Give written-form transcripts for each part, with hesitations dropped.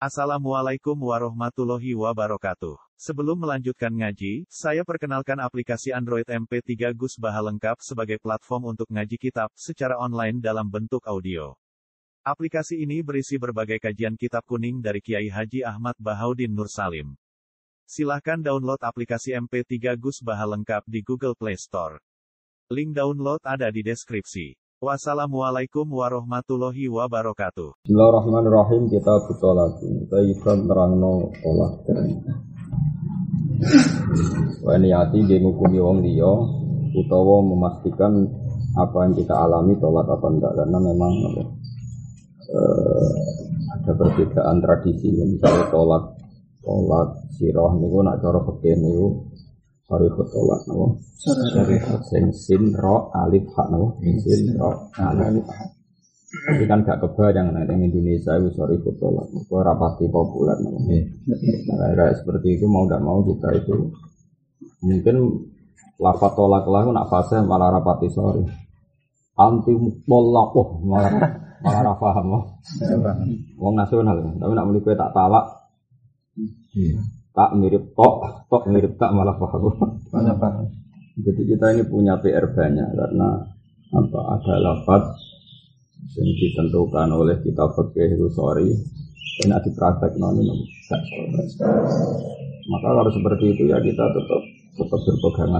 Assalamualaikum warahmatullahi wabarakatuh. Sebelum melanjutkan ngaji, saya perkenalkan aplikasi Android MP3 Gus Baha lengkap sebagai platform untuk ngaji kitab secara online dalam bentuk audio. Aplikasi ini berisi berbagai kajian kitab kuning dari Kiai Haji Ahmad Bahaudin Nur Salim. Silahkan download aplikasi MP3 Gus Baha lengkap di Google Play Store. Link download ada di deskripsi. Wassalamualaikum warahmatullahi wabarakatuh. Bismillahirrahmanirrahim. Kita butuh lagi. Kita ikan terangno tolak. Wani hati dia ngukumi wong liya utawa memastikan apa yang kita alami tolak apa enggak, karena memang ada perbedaan tradisi. Misalnya tolak sirah niku nak cara fikih niku sorry tolak napa? Sorry sin ro alif ha napa? Sin ro alif ha. Tapi kan gak kebayang nek ning Indonesia itu sorry tolak. Kok ora pasti populer napa? Nah, seperti itu mau enggak mau kita itu mungkin lafaz tolak lah nak fasih malah rapati sorry. Anti tolak malah ra paham. Wong nasional, tapi nak muni kowe tak talak. Tak mirip tok mirip tak malah paham. Jadi kita ini punya PR banyak karena ada lafaz yang ditentukan oleh kitab fikih itu sorry, ini dipraktek noni gak sorry. Maka kalau seperti itu ya kita tetap berpegangan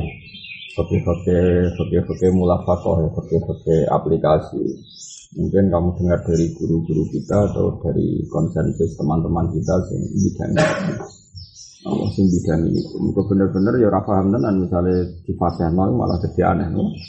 fikih mulafaqah ya, fikih aplikasi. Mungkin kamu dengar dari guru-guru kita atau dari konsensus teman-teman kita sing bidang ini. Mungkin benar-benar ya ora paham tenan misale di fase nol malah jadi aneh.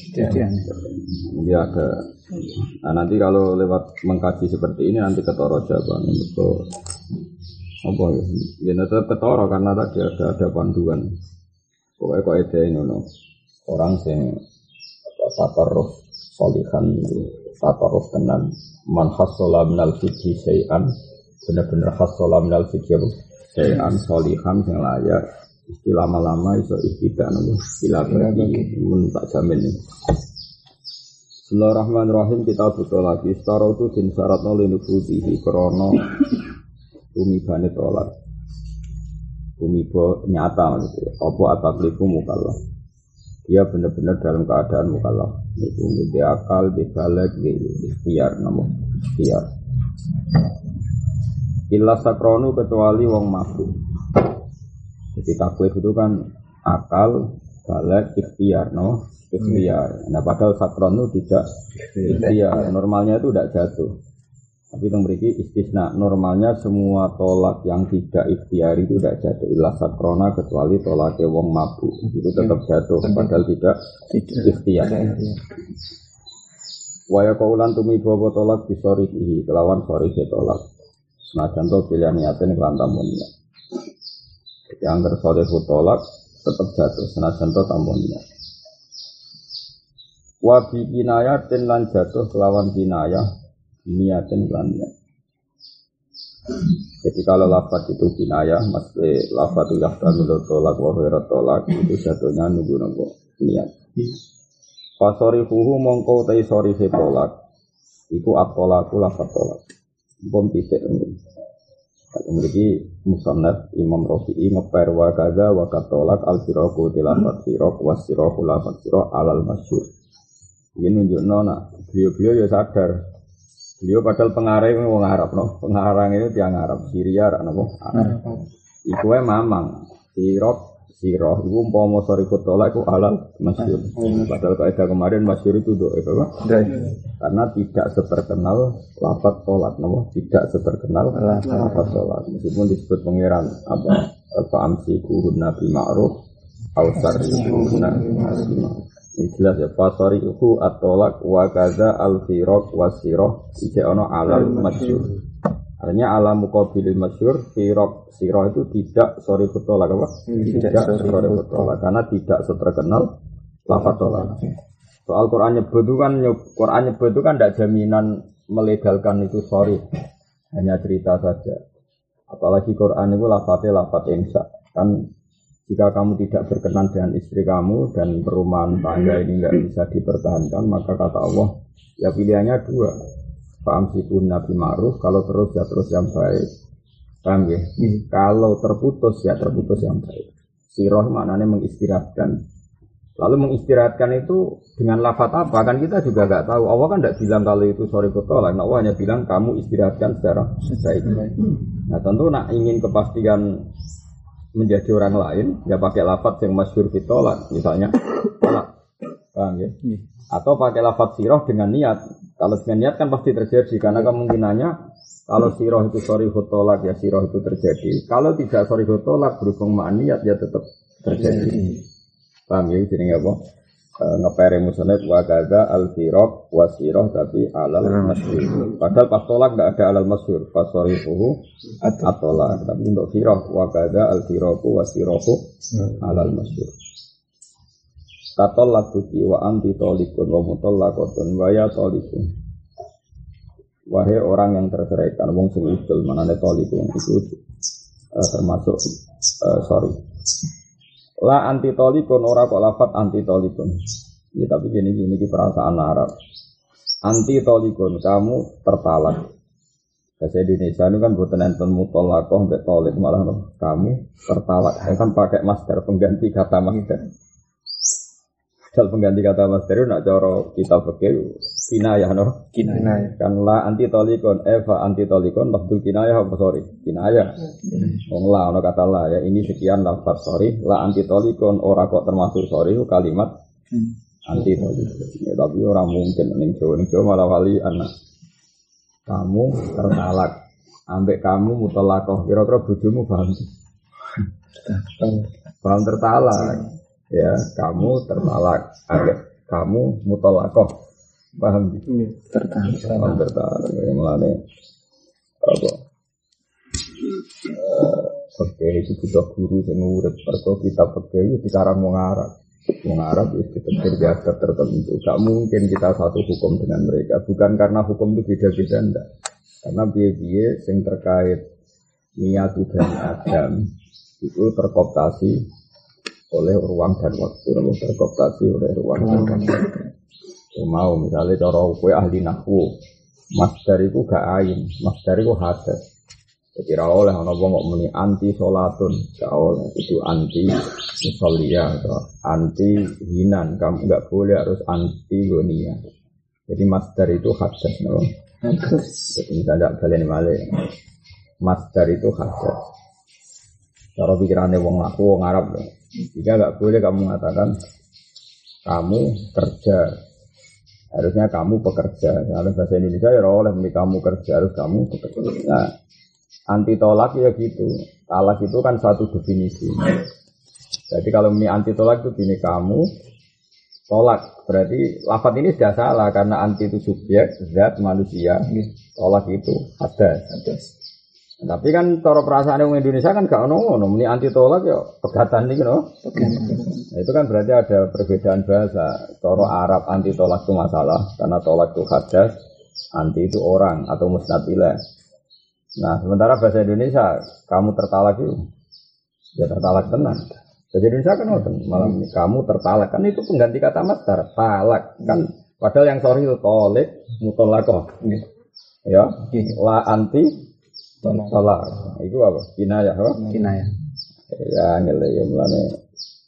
Ya ada. Nah, nanti kalau lewat mengkaji seperti ini nanti ketara jawaban betul. Apa ya? Ya tetap ketara karena tadi ada panduan. Pokoknya kok ide ngono. Orang sing tatarruf sholihan itu tatarruf tenan man hassala minal fiqhi syai'an, benar-benar hassala minal fiqhi syai'an sholihan sing layak istilah lama-lama iso ihtidak napa istilah mun tak jamin. Bismillahirrahmanirrahim. Kita butuh lagi setara itu din syaratno linufudihi krana tumibane tolak tumiba nyata maksudnya apa ataklifu mukallaf, dia benar-benar dalam keadaan mukallaf itu di akal, di balik, di ikhtiar namun ikhtiar illa sakronu kecuali wong mabuk. Jadi taklif itu kan akal, balik, ikhtiar ikhtiar. Nah padahal sakron itu tidak ikhtiar, normalnya itu tidak jatuh. Tapi yang memiliki istisna, normalnya semua tolak yang tidak ikhtiar itu tidak jatuh. Illa sakrona kecuali tolaknya wong mabuk itu tetap jatuh, padahal tidak ikhtiar. Waya kaulan tumi bawa tolak disorihi kelawan sorihi tolak. Nah contoh pilihan niatin kelantamunnya. Jadi anggar sorihi tolak tetap jatuh. Nah contoh tamunnya. Wabi kinayatin lan jatuh kelawan kinayah. Niatin kelantamunnya. Jadi kalau lafaz itu kinayah, maksudnya lafaz itu yahdamil tolak wa khairat tolak itu jatuhnya nunggu niat. Fasorihuhu mongko tai sorihe tolak iku at-tolaku lafaz tolak. Bom titik ini. Memiliki musannaf Imam Rafi'i ngeper wa kaza wa katolak al-siraku tilafat sirak wa siraku lafaz sirak alal masyhur. Ini nunjukno nak beliau-beliau ya sadar. Beliau padahal pengarang wong Arab pengarang itu tiang Arab Syria napa Arab. Iku wae mamang sirah iku umpama sarifut tolak iku alal masyhur. Padahal kaidah kemarin masyhur itu doa itu kan. Karena tidak seterkenal lafaz tolak tidak seterkenal lafaz tolak. Meskipun disebut pangeran fa'amsiku nabi ma'ruf au sarifuna ini jelas ya, fasarihu at-tolak wa kaza al-firaq wa sirah ijek ono alal masyhur. Artinya ala muqabilil masyhur sirah itu tidak sarihu tolak apa? Tidak sarihu tolak karena tidak seterkenal lafaz tolak. Soal Quran nyebut itu kan tidak jaminan melegalkan itu sorry, hanya cerita saja. Apalagi Quran itu lafaznya lafaz insya kan. Jika kamu tidak berkenan dengan istri kamu dan perumahan tangga ini tidak bisa dipertahankan, maka kata Allah, ya pilihannya dua. Fa'amsikun nabi ma'ruf, kalau terus ya terus yang baik. Paham ya? Kalau terputus ya terputus yang baik. Siroh maknanya mengistirahatkan. Lalu mengistirahatkan itu dengan lafaz apa? Kan kita juga nggak tahu. Allah kan tidak bilang kalau itu sorry tolak. Allah hanya bilang kamu istirahatkan secara baik. Nah tentu nak ingin kepastian menjadi orang lain, ya pakai lafaz yang masyhur fitolak, misalnya tolak. Paham ya? Atau pakai lafaz siroh dengan niat. Kalau dengan niat kan pasti terjadi karena kemungkinannya kalau siroh itu sorry tolak ya siroh itu terjadi. Kalau tidak sorry tolak berhubung sama niat ya tetap terjadi. Paham ya, jadi apa? Ngepere musonnet wakaza al-firaq wasiroh tapi alal masyhur. Padahal pas tolak tidak ada alal masyhur. Pas sorifuhu at-tolak. Tapi untuk firaq wakaza al-firaqu wasirohu alal masyhur. Katol lakuti wa anti tolikun wa mutolakotun wa ya tolikun. Wahai orang yang terceraikan, wong sing udul manane tolikun itu termasuk sorry. La antitolikun ora kok lafat antitolikun. Ya tapi gini ki perasaan Arab. Antitolikun kamu tertalak. Bahasa Indonesia itu kan boten enten mutolaqah mbek tolik malah kamu tertalak. Saya kan pakai masdar pengganti kata masdar. Dal pengganti kata masdar itu nak cara kita fikih kinayah no. Kinayah. Kan la antitolikun eva antitolikun lafdzul kinayah apa sorry? Kinayah. Wong la ono kata la ya ini sekian lafaz sorry la antitolikun ora kok termasuk sorry kalimat antitolikun. Ya, tapi orang mungkin ning Jawa malah wali anak. Kamu tertalak ambek kamu mutalaqah kira-kira bojomu paham? Paham tertalak. Ya, kamu tertalak, agak kamu mutolaqah, paham? Tertalak. Tertalak. Yang melane apa? Oke, itu butuh guru yang ngurut. Perko kita pakai itu sekarang mengarab itu terbiasa tertentu. Gak mungkin kita satu hukum dengan mereka. Bukan karena hukum itu beda-beda, enggak. Karena biaya-biaya yang terkait niat Bani Adam itu terkooptasi oleh ruang dan waktu, terkooptasi oleh ruang dan waktu. Mau misalnya cara kue ahli nahwu, masdar itu gak ain, masdar itu hadas. Jadi oleh orang ngomong muni anti sholatun, gak oleh itu anti musoliyah atau anti hinan, kamu gak boleh harus anti gonia. Jadi masdar itu hadas, no? Jadi misalnya kalian balik, masdar itu hadas. Cara pikirannya wong aku, wong Arab, jika nggak boleh kamu mengatakan kamu kerja, harusnya kamu pekerja. Kalau bahasa Indonesia ya oleh kamu kerja harus kamu pekerja. Nah, anti tolak ya gitu. Talak itu kan satu definisi. Jadi kalau ini anti tolak itu gini kamu tolak berarti lafaz ini sudah salah karena anti itu subjek zat manusia. Tolak itu hadas. Tapi kan cara perasaan orang Indonesia kan gak ono, ini anti tolak ya pegatan nih, no? Nah, itu kan berarti ada perbedaan bahasa. Cara Arab anti tolak itu masalah karena tolak itu hadas, anti itu orang atau musnad ilaih. Nah, sementara bahasa Indonesia kamu tertalak itu, ya tertalak tenang. Bahasa Indonesia kan malam ini kamu tertalak kan itu pengganti kata masdar talak kan. Padahal yang sorry itu tolik mutolaqah. Ya, la anti tolak, itu apa? Kinayah, apa? Kinayah. Ya, ngele ya mulane.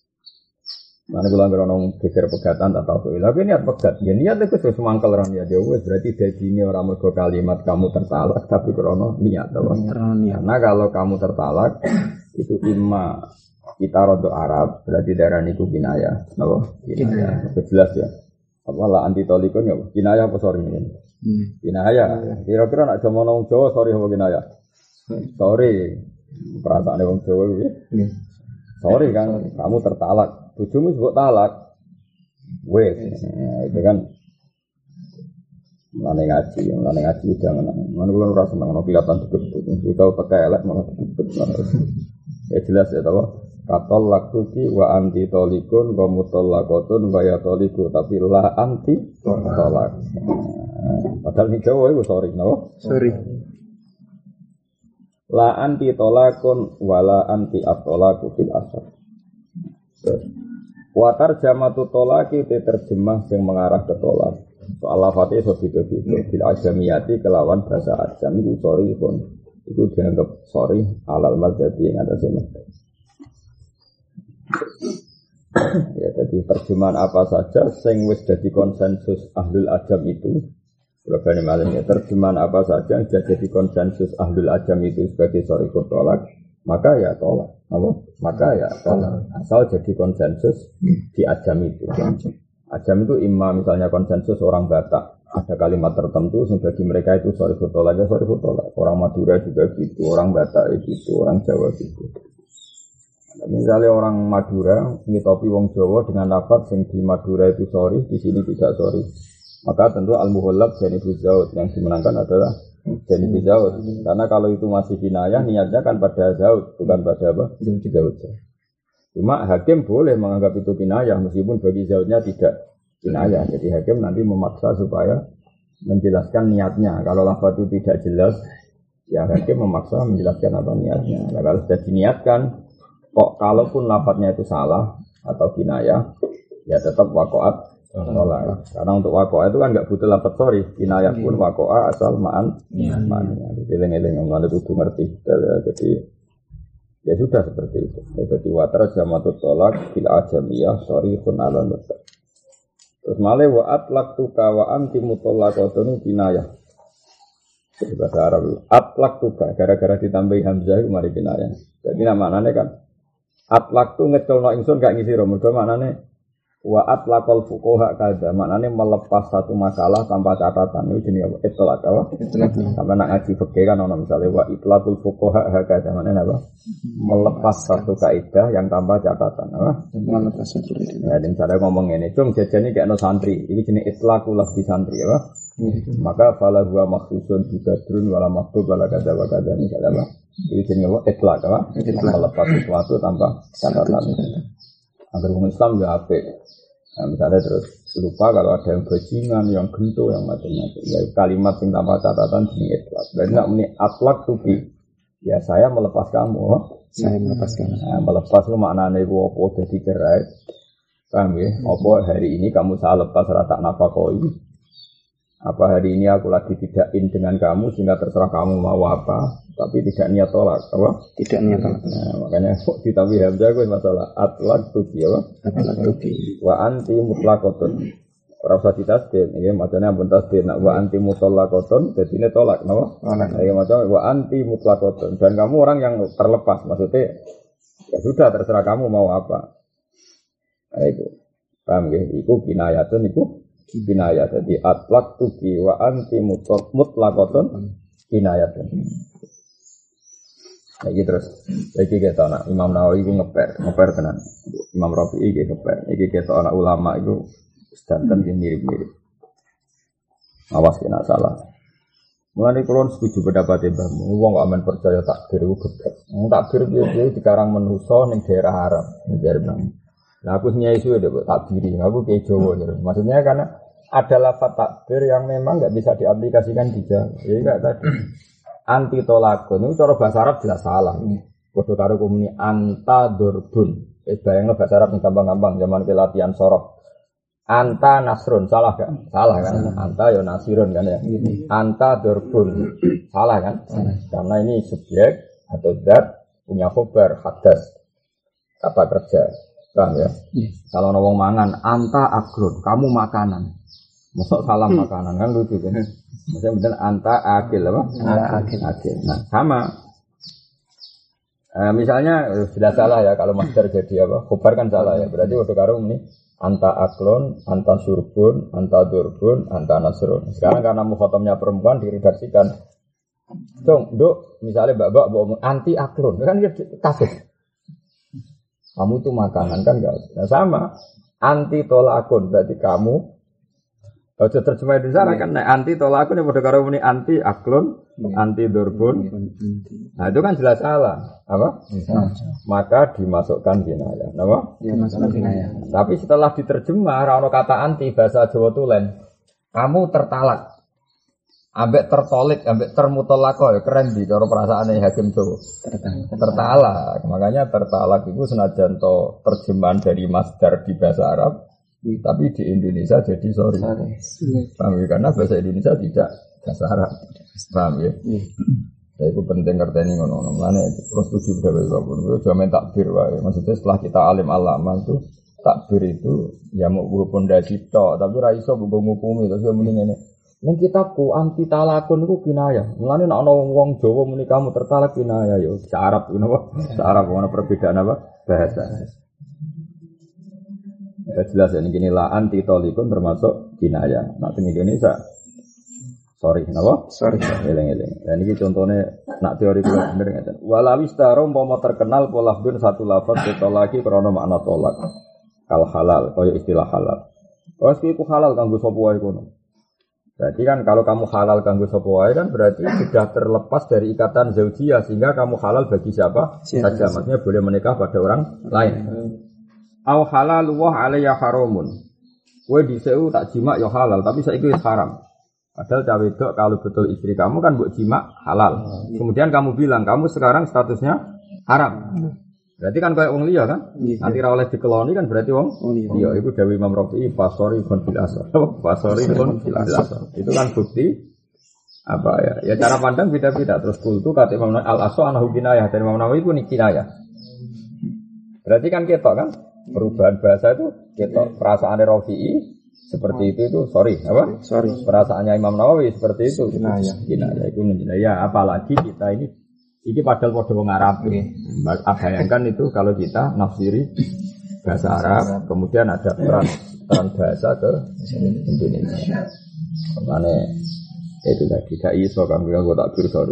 Mana bilang orang geger pegatan tak tahu. Tapi niat pegat, ya niat itu sesuatu mangkal orang ya jauh. Berarti dari ini orang mergo kalimat kamu tertalak, tapi krono niat, apa? Karena kalau kamu tertalak itu imma kita rodok Arab, berarti daerah itu kinayah, apa? Kinayah. Jelas ya. Apalah anti tolikon ya? Kinayah apa sorry ini? Kinayah. Kira-kira nak jaman orang Jawa sorry apa kinayah? Sorry, perasaan orang Jawa gitu. Sorry kan, kamu tertalak. Bojomu sebut talak. Wes, itu kan mulane ngaji jangan. Mana kula ora seneng ono kelihatan deket. Tahu pakai elek malah deket. Ya jelas ya tahu. Katol lakuki wa anti tolikun wa mutolakotun wa ya toliku tapi la anti tolak. Padahal ini Jawa itu sorry, no? Sorry. La anti tolakun wala anti atolaku fil asar. Watar jamatu tolaki itu terjemah yang mengarah ke tolak. Soal lafadznya so gitu. Fil ajamiyati kelawan bahasa ajam itu sorry pun. itu dianggap sorry alal madzhabi yang atas ini. Ya, jadi terjemahan apa saja sing wis dadi konsensus ahlul ajam itu, berbagai malam ya, terjemahan apa saja yang jadi konsensus ahlul ajam itu sebagai sorry tolak, maka ya tolak, apa? Maka ya tolak. Asal jadi konsensus di ajam itu. Ajam itu imam misalnya konsensus orang Batak, ada kalimat tertentu yang bagi mereka itu sorry tolak, ya sorry tolak. Orang Madura juga gitu, orang Batak gitu, orang Jawa gitu. Misalnya orang Madura ngitopi wong Jawa dengan lafaz yang di Madura itu sorry, di sini tidak sorry. Maka tentu al-muhallab Janibuz Zaud yang dimenangkan adalah Janibuz Zaud. Karena kalau itu masih kinayah niatnya kan pada Zaud, bukan pada apa? Zaud. Cuma hakim boleh menganggap itu kinayah meskipun bagi Zaudnya tidak kinayah. Jadi hakim nanti memaksa supaya menjelaskan niatnya. Kalau lafaz itu tidak jelas, ya hakim memaksa menjelaskan apa niatnya. Nah, kalau sudah diniatkan kok kalaupun lafadznya itu salah atau kinayah, ya tetap wakoat tolak. Karena untuk wakoat itu kan nggak butuh lafadz sorry, kinayah pun wakoat asal ma'an. Eleng-eleng orang itu ngerti. Jadi ya sudah seperti itu. Jadi watar jamatut tolak bila ajamiyah sorry pun ala nusa. Terus malih wa'at laktuka wa anti mutolakotun kinayah. Jadi bahasa Arab atlaktuka gara-gara ditambahi hamzah itu mari kinayah. Jadi namanya kan atlak tu ngecolno ingsun gak ngisi ro mergo maknane wa atlaqal fuqaha kadza maknane melepas satu makalah tanpa catatan itu jenenge apa itlaq apa sampe nak ngaji fikih kan ono misale wa itlaqul fuqaha kadza maknane apa melepas satu kaidah yang tanpa catatan apa melepas satu kaidah ya dan cara ngomong ngene cung jajane gak ono santri iki jenenge itlaqul lafzi santri apa maka fala huwa makhsusun bi badrun wala maktub wala kadza wa kadza ini apa ini jenenge itlaq apa melepas sesuatu tanpa catatan. Agar orang Islam ya apik. Nah, misalnya terus lupa kalau ada yang bajingan, yang gento, yang macam-macam. Ya kalimat yang tanpa catatan jenenge itlaq. Berarti nak muni atlaq tubi. Ya saya melepas kamu. Saya melepas kamu. Nah, melepas itu maknane iku apa dadi cerai. Paham ya? Apa hari ini kamu saya lepas rata nafakoi. Apa hari ini aku lagi tidak in dengan kamu sehingga terserah kamu mau apa, tapi tidak niat tolak, apa? Tidak niat tolak. Nah, makanya kok ditambah hamzah gue masalah atlaq tubi apa? Atlaq tubi. Wa anti mutlaqatun. Ora usah ditasdid, nggih macane ampun tasdid nak wa anti mutlaqatun dadine tolak, napa? Nggih macane wa anti mutlaqatun dan kamu orang yang terlepas, maksudnya ya sudah terserah kamu mau apa. Nah, itu. Paham nggih? Iku kinayatun iku kinayah jadi atlaq tuki wa anti mutlaqatun kinayatun. Lagi terus lagi kita nak Imam Nawawi itu ngeper tenan. Imam Rafi'i gitu ngeper. Iki kita anak ulama itu sedanten mirip-mirip. Awas kena salah. Mulane kula setuju pendapat Mbah Mun. Wong kok amen percaya takdir iku geblek. Takdir piye-piye dikarang manusa ning daerah Arab, ning daerah Nah aku nyai suwe deh takdiri, aku kayak Jawa gitu. Maksudnya karena ada lafaz takdir yang memang nggak bisa diaplikasikan di Jawa. Jadi kayak tadi anti tolakun itu cara bahasa Arab jelas salah. Kode karo komuni anta dorbun. Bayangno bahasa Arab yang gampang-gampang zaman latihan sorok. Anta nasrun salah kan? Salah kan? Anta ya nasirun kan ya. Anta dorbun salah kan? Karena ini subjek atau zat punya khobar hadas kata kerja. Kan ya. Kalau wong mangan, anta akrun, kamu makanan. Masuk salam makanan kan lucu kan. Maksudnya bener anta akil apa? Akil. Nah, sama. Misalnya sudah salah ya kalau master jadi apa? Khobar kan salah ya. Berarti udah karo ini anta aklon, anta surbun, anta durbun, anta nasrun. Sekarang karena mukhatamnya perempuan diredaksikan. Dong, Dok, misalnya Mbak bawa anti aklon, kan kafir. Kamu tuh makanan kan enggak. Nah sama anti tolakun berarti kamu kalau terjemah di sana kan anti tolakun yang pada karo ini anti aklun, anti durbun. Nah itu kan jelas salah. Apa? Maka dimasukkan kinayah. Apa? Dimasukkan kinayah. Tapi setelah diterjemah rano kata anti bahasa Jawa tulen. Kamu tertalak. Ambek tertolik, ambek termutolako ya keren di cara perasaannya Hakim Jawa. Tertalak. Makanya tertalak itu senajan to terjemahan dari masdar di bahasa Arab, tapi di Indonesia jadi sorry. Paham ya? Karena bahasa Indonesia tidak bahasa Arab. Paham ya? Ya itu penting ngerteni ngono-ngono. Mane terus setuju dhewe kabeh. Yo jamin takbir wae. Maksudnya setelah kita alim alama itu takbir itu ya mau pondasi tok, tapi ra iso mbok ngukumi terus yo muni ngene. Ning kitabku anti talakun iku kinayah. Mulane nek ana wong Jawa muni kamu tertalak kinayah yo Arab ngono apa? Arab ono perbedaan apa? Bahasa. Ya jelas ya ini la anti talikun termasuk kinayah. Nah teng Indonesia sorry, napa? Sorry. Eleng-eleng. Dan ini contohnya nak teori kula bener ngeten. Walawis taro umpama terkenal pola bin satu lafaz ditolaki krana makna tolak. Kal halal, kaya istilah halal. Wes iku halal kanggo sapa wae kono. Berarti kan kalau kamu halal kanggo sapa wae kan berarti sudah terlepas dari ikatan zaujiyah sehingga kamu halal bagi siapa saja. Maksudnya boleh menikah pada orang lain. Au halal wa alayya haramun. Kowe dhisik tak jima ya halal, tapi saiki wis haram. Padahal cawe wedok kalau betul istri kamu kan buat jima halal. Kemudian kamu bilang kamu sekarang statusnya haram. Berarti kan kayak wong liya kan? Nanti ra oleh dikeloni kan berarti wong liya. Iku dawuh Imam Rafi'i fasori kon bil asar. Fasori kon bil asar. Itu kan bukti apa ya? Ya cara pandang beda-beda. Terus kultu kata Imam Al Aswa anahu kinayah dari Imam Nawawi pun kinayah. Berarti kan ketok kan? Perubahan bahasa itu ketok perasaan Rafi'i seperti itu sorry apa? Sorry. Perasaannya Imam Nawawi seperti itu. Kinayah itu ya apalagi kita ini padahal padha wong Arab. Bayangkan itu kalau kita nafsiri bahasa Arab, kemudian ada peran bahasa ke Indonesia. Makanya itu tadi gak iso kan gue tak sorry.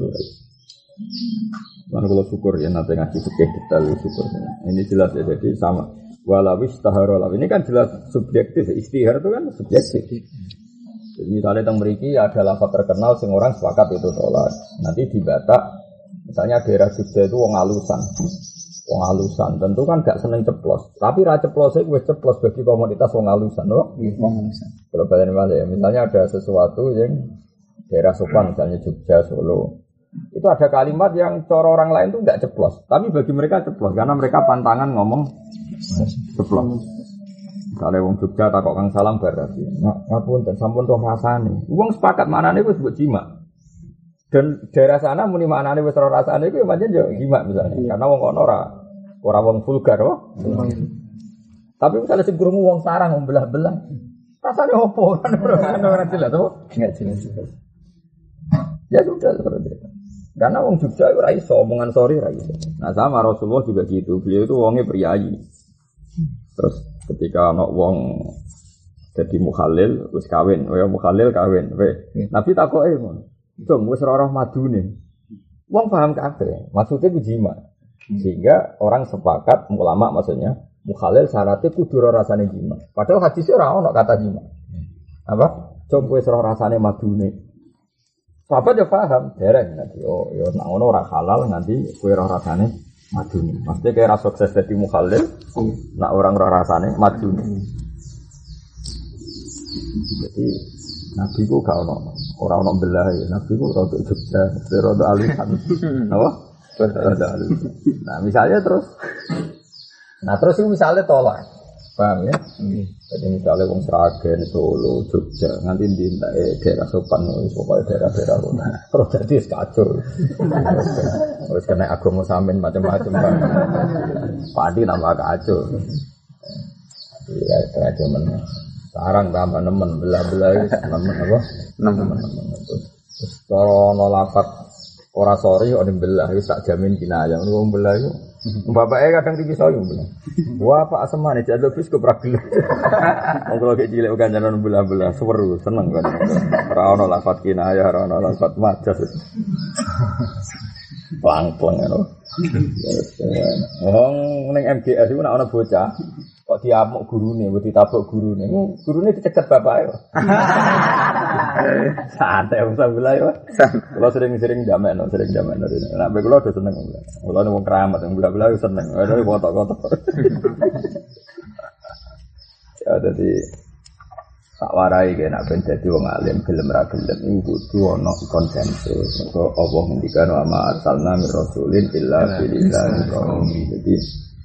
Mana kalau syukur ya nanti ngaji fikih detail syukur. Ini jelas ya jadi sama. Walawis taharollah ini kan jelas subjektif, istihar itu kan subjektif. Jadi misalnya teng mriki ada lafaz terkenal sing orang sepakat itu tolak. Nanti di Batak misalnya daerah Jogja itu wong alusan, tentu kan gak seneng ceplos. Tapi ra ceplose wis ceplos bagi komunitas wong alusan, loh. Wong alusan. Kalau balen ya, misalnya ada sesuatu yang daerah sopan misalnya Jogja, Solo. Itu ada kalimat yang cara orang lain tuh enggak ceplos, tapi bagi mereka ceplos karena mereka pantangan ngomong ceplos. Misalnya wong Jogja takok Kang Salam berarti, ngapunten sampun toh rasane. Wong sepakat maknane wis mbok jima. Dan daerah sana muni maknane wis ora rasane iku pancen yo jima misalnya. Karena wong kono ora wong vulgar kok. Tapi misalnya sing krungu wong sarang wong belah-belah. Rasane opo? Ora jelas to? Enggak jelas. Ya sudah seperti itu. Karena wong Jogja ora iso omongan sorry ra iso. Nah sama Rasulullah juga gitu. Beliau itu wonge priyayi. Terus ketika ana wong dadi mukhalil wis kawin, ya mukhalil kawin. Nabi takoke ngono. Dong wis ora madune. Wong paham kabeh. Maksudnya ku jima. Sehingga orang sepakat ulama maksudnya mukhalil syaratnya kudu ora rasane jima. Padahal hadisnya ora ono kata jima. Apa? Dong wis ora rasane madune. Sahabat ya paham, dereng nanti. Oh, ya nak ngono ora halal nanti kowe ora rasane madune. Maksudnya kayak ra sukses dadi mukhalil, nak orang ora rasane madune. Jadi Nabi ku gak ono, ora ono belah ya. Nabi ku rodok Jogja, rodok alisan. Apa? Rodok alisan. Nah, misalnya terus itu misalnya tolak. Paham ya? Jadi misalnya wong Sragen, Solo, Jogja, nanti di daerah sopan, pokoknya daerah-daerah kota. Terus jadi kacau. Terus kena agama samin macam-macam kan. Padi tambah kacau. Jadi kayak cuman sarang tambah nemen, belah-belah nemen apa? Nemen. Terus kalau nolafat ora sorry, orang belah, itu tak jamin kinayah. Orang belah itu. Bapaknya kadang tinggi soalnya bilang, wah Pak Asmani jadi lebih ke pragelar. Kalau kayak cilik bukan jangan belah-belah, seru, seneng kan. Rano lafat kinayah, rano lafat majas. Pelang-pelang ya loh. Neng MGS itu nak ada bocah, kok diamuk gurune, buat ditabuk gurune. Gurune dicegat bapaknya. Santai usah belah ya. Kalau sering jaman. Nah, kalau udah seneng. Kalau ada orang keramat yang belah-belah seneng. Ada kotak-kotak. Ya jadi tak warai kayak nak jadi wong alim gelem ra gelem iku kudu ana konsensus. Maka Allah ngendikan wa ma arsalna mir rasulin illa bilisani qaumi. Jadi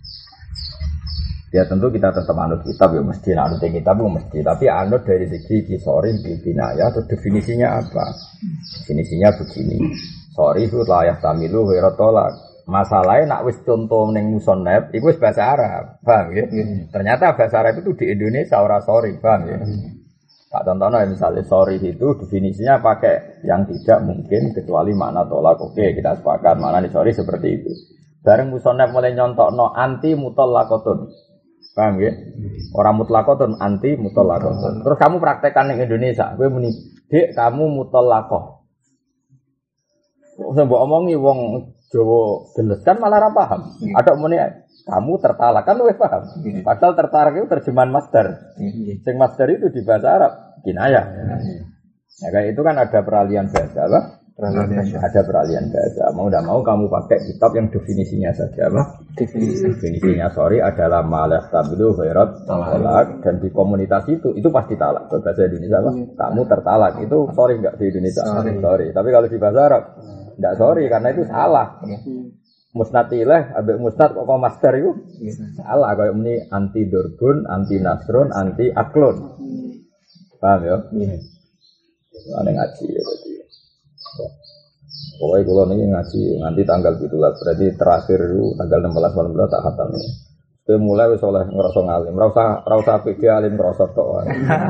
ya tentu kita tetap anut kitab ya mesti anut kitab ya mesti, tapi anut dari segi kisori binaya atau definisinya apa? Definisinya begini. sorry itu layak tamilu wa tolak. Masalahnya nak wis contoh ning musonep, iku wis bahasa Arab, paham ya? Ternyata bahasa Arab itu di Indonesia ora sorry, paham ya? Tak contohnya misalnya sorry itu definisinya pakai yang tidak mungkin kecuali makna tolak. Oke, kita sepakat makna di sorry seperti itu. Bareng musonep mulai nyontokno anti mutallaqatun, paham ya? Orang mutlaqatun anti mutallaqatun. Terus kamu praktekkan di Indonesia, kowe muni, "Dik, kamu mutallaqah." Wong mbok omongi wong Jawa geles kan malah ora paham. Ada muni kamu tertalak kan wis paham. Padahal tertarik itu terjemahan masdar. Sing masdar itu di bahasa Arab kinayah. Ya kayak itu kan ada peralihan bahasa apa? Ada peralihan bahasa. Mau tidak mau kamu pakai kitab yang definisinya saja apa? Definisinya sorry adalah malah tabilu khairat talak dan di komunitas itu pasti talak. Bahasa Indonesia apa? Kamu tertalak itu sorry enggak di Indonesia? Sorry. Tapi kalau di bahasa Arab enggak sorry karena itu salah. Musnatilah, abek musnat kok master itu salah. Kayak ini anti durbun, anti nasrun, anti aklun. Paham ya? Ada ngaji ya berarti. Pokoknya kalau ini ngaji nanti tanggal 17 berarti terakhir itu tanggal 16 tak khatam ya. Saya mulai wis oleh ngerasa ngalim, rasa pede alim ngerasa tok.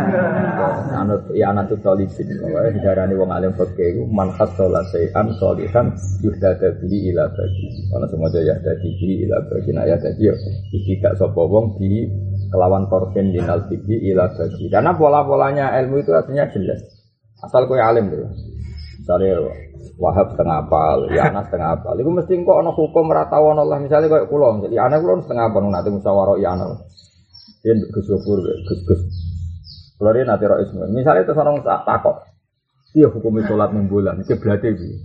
Anut ya anatu tolibin, wae didarani wong alim fikih iku man khassala sayan sholihan yuhdada bihi ila bagi. Ana semoga ya dadi bihi ila bagi ya dadi iki gak sapa wong bi kelawan torfin dinal bihi ila bagi. Karena pola-polanya ilmu itu artinya jelas. Asal kowe alim lho. Misalnya Wahab setengah apal, Yana setengah apal. Iku mesti kok ana hukum ora tau ana Allah. Misale koyo kula, Yana kula setengah apal nate musyawarah Yana. Yen Gus Gofur, Gus. Kula yen nate ro ismu. Misale terus ana takok. Piye hukum salat ning bulan? Kiblate piye?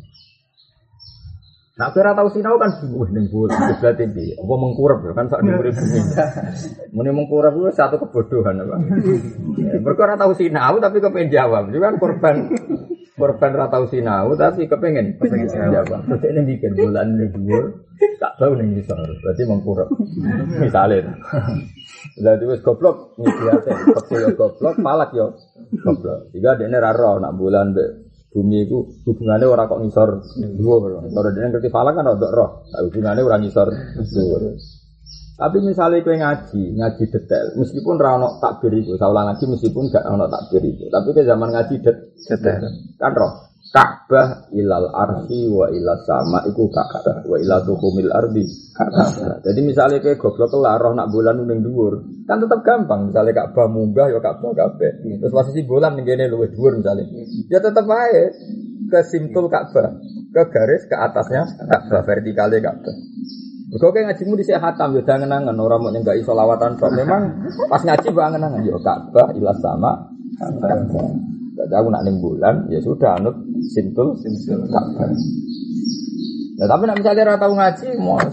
Nak ora tau sinau kan ning bulan kiblate piye? Apa mengkurep kan sak dhuwure bumi. Muni mengkurep ku satu kebodohan apa. Mergo ora tau sinau tapi kepen jawab. Itu kan korban ratau sinau tapi kepengen jawab. Terus ini bikin bulan ini dhuwur, tak tahu ning isor. Berarti mengkurep. Misale. Lah wis goblok ngidiate, kok goblok, malak yo goblok. Tiga dene ra ro nak bulan mbek bumi iku hubungane ora kok ngisor dhuwur. Ora dene ngerti falak kan ora roh. Hubungane ora ngisor dhuwur. Tapi misalnya kowe ngaji detail, meskipun ra ono takbir itu, saulang ngaji meskipun gak ono takbir itu, tapi ke zaman ngaji detail. Kan roh, Ka'bah ilal arsy wa ilas sama iku Ka'bah wa ila tuhumil ardi Ka'bah. Jadi misalnya kowe goblok kelar roh nak bulan ning dhuwur, kan tetap gampang. Misalnya Ka'bah munggah ya Ka'bah kabeh. Terus posisi bulan ning kene luwih dhuwur misalnya. Ya tetap ae ke simtul Ka'bah, ke garis ke atasnya Ka'bah vertikale Ka'bah. Kau kayak ngajimu di hatam, ya jangan nangan orang mau nyenggak isolawatan. Memang pas ngaji banget nangan, ya Ka'bah ilas sama. Tidak tahu nak ning bulan, ya sudah anut simtul Ka'bah. Nah, tapi nak misalnya tahu ngaji,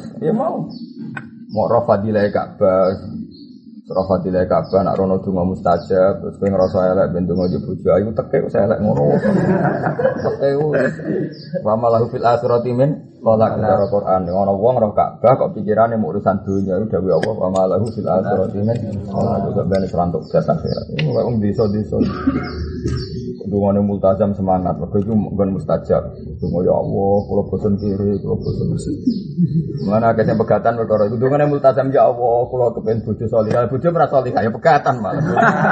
mau rafadilai Ka'bah, rafadilai Ka'bah, nak rono dungo mustajab, terus kau ngerasa elek bendungo jubuju, ayu teke saya elek ngono, teke wamalahu fil akhirati min Kolak cara Quran dengan wong roh Ka'bah kok pikirane mau urusan dunia itu dawuh Allah wa ma lahu fil akhirati min khalaq ben serantuk jasa akhirat. Ini kok wong desa-desa. Dungane multazam semangat mergo iku nggon mustajab. Donga ya Allah, kula bosen kiri, kula bosen mesti. Mana akeh pegatan perkara iku dungane multazam ya Allah, kula kepen bojo salihah. Bojo ora salihah ya pegatan malah.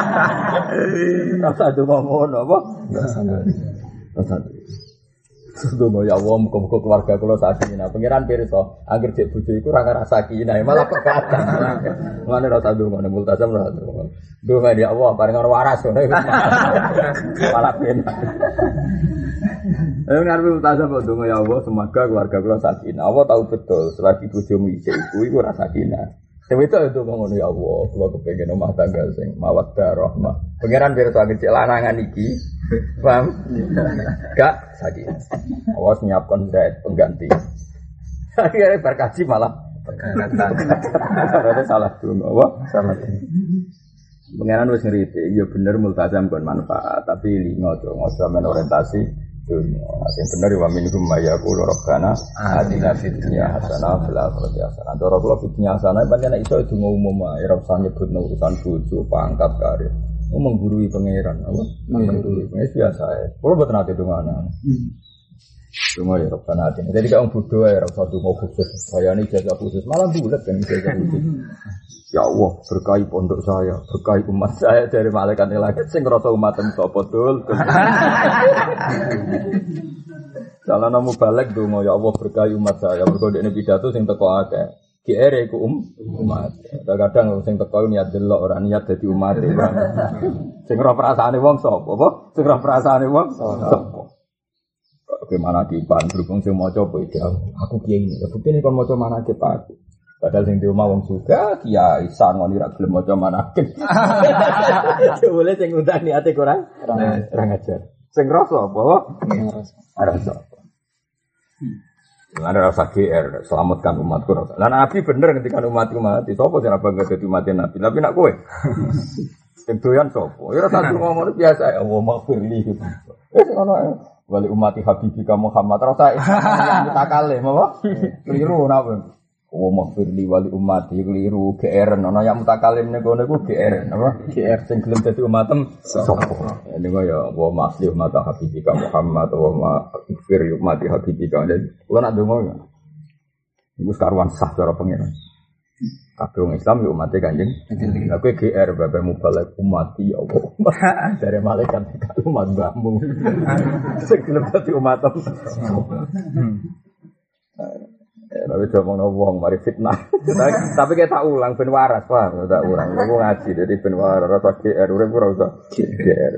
Rasa donga ngono apa? Rasa Sedonga ya Allah, muga-muga keluarga kula sakinah. Pangeran pirsa, anggere cek bojo iku ora ngrasa sakinah, malah pekatan. Mane ora tau ndonga nek multazam ora tau. Ndonga ya Allah, bareng ora waras ngono iku. Malah penak. Ayo ngarep multazam kok ndonga ya Allah, semoga keluarga kula sakinah. Allah tahu betul, selagi bojomu isih iku ora sakinah. Dewe itu ngono ya Allah, kula kepengin omah tangga sing mawaddah rahmah. Pangeran pirsa anggere cek lanangan iki. Paham? Gak sakit. Awas nyiapkan diet pengganti. Akhirnya berkaji malah pengganti. Ada salah dulu, apa? Salah. Pengenan wis ngerti, ya bener multazam kon manfaat, tapi lingo to, ngoso men orientasi dunia. Sing bener wa minhum mayaqulu rabbana atina fid dunya hasanah wa fil akhirati hasanah. Ndoro kula fid dunya hasanah pancen iso donga umum ae, ora usah nyebut urusan bojo, pangkat, karir. Menggurui pangeran, apa? Menggurui, biasa ya. Kalau buat nanti dongana. Cuma ya Rabbana atina. Jadi kalau bodoh ya rasa donga khusus. Saya ini jaga khusus malah bulat kan jaga khusus. Ya Allah, berkahi pondok saya, berkahi umat saya dari malaikat langit sing ngrasa umatem sapa dul. Salah namu balik donga ya Allah berkahi umat saya. Mergo dekne pidato sing teko akeh. GR iku umat. Kadang sing teko niat delok ora niat dadi umat. Sing ora perasaane wong sapa? Apa? Sing ora perasaane wong sapa? Bagaimana kipan berhubung sing maca beda. Aku kiai ini. Bukti kon maca manake Pak. Padahal sing di omah wong juga kiai sangon ora gelem maca manake. Boleh sing udah niate kurang ajar. Sing rasa apa? Rasa. Ada rasa GR, selamatkan umatku rasa. Lah Nabi bener ketika umatku mati. Sopo sing bangga dadi umatnya Nabi? Tapi nak kowe. Sing doyan sopo? Ya rasa ngomong biasa ya Allah maghfirli. Ono wali umati habibika Muhammad rasa yang mutakale apa? Keliru napa? Oh maghfirli wali umati keliru GR ono yang mutakalim niku GR apa? GR sing gelem dadi umatem sapa? Ini kaya wa maslih mata habibika Muhammad wa maghfir umati habibika. Kula nak donga ya. Iku karuan sah cara pengiran. Kabeh wong Islam yo umate Kanjeng. Lah kowe GR bae mubalek umati ya Allah. Dari malaikat umat mbahmu. Sing gelem dadi umatem. Tapi coba ngomong mari fitnah. Tapi kita tak ulang ben waras, paham? Tak ulang. Aku ngaji jadi ben waras rasa GR urip ora usah GR.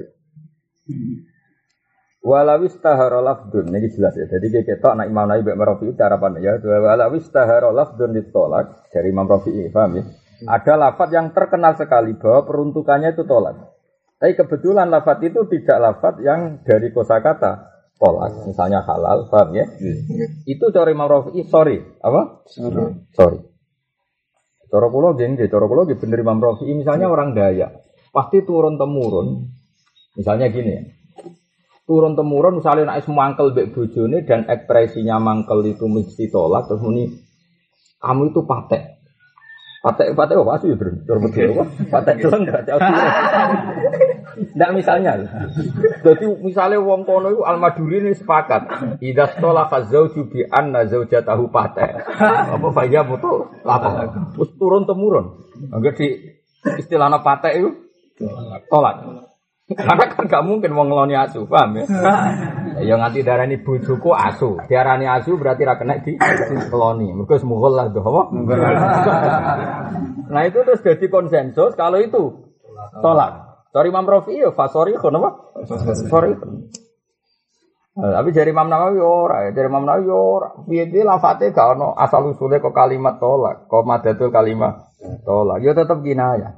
Walawis tahara lafdun ini jelas ya. Jadi kita nak Imam Nawawi Mbak Rafi'i cara pandai ya. Walawis tahara lafdun ditolak dari Imam Rafi'i, paham ya? Ada lafaz yang terkenal sekali bahwa peruntukannya itu tolak. Tapi kebetulan lafaz itu tidak lafaz yang dari kosakata tolak, misalnya halal, paham ya? Itu cara Imam Rafi'i, sorry, apa? Sorry. Cara kula nggih bener Imam Rafi'i, misalnya orang Dayak, pasti turun temurun. Misalnya gini ya. Turun temurun misalnya nek mangkel mbek bojone dan ekspresinya mangkel itu mesti tolak terus muni kamu itu patek. Patek apa sih, Bro? Patek jeleng berarti aku. Ndak misalnya. Jadi misalnya wong kono iku Al-Maduri ini sepakat, idza tola fazauju bi anna zaujatahu patek. Apa faya foto apa? Terus turun temurun. Angger di istilahna patek itu tolak. Karena kan gak mungkin wong ngeloni asu, paham ya? Ya nganti darani bojoku asu. Diarani asu berarti ra kena di ngeloni. Mergo semughul lah doh apa? Nah itu terus jadi konsensus kalau itu tolak. Dari Imam Rafi'i ya fasori kon apa? Fasori. Tapi dari Imam Nawawi ora, dari Imam Nawawi ora. Piye-piye lafate gak ono asal usule kok kalimat tolak, kok madatul kalimat tolak. Ya tetep kinayah.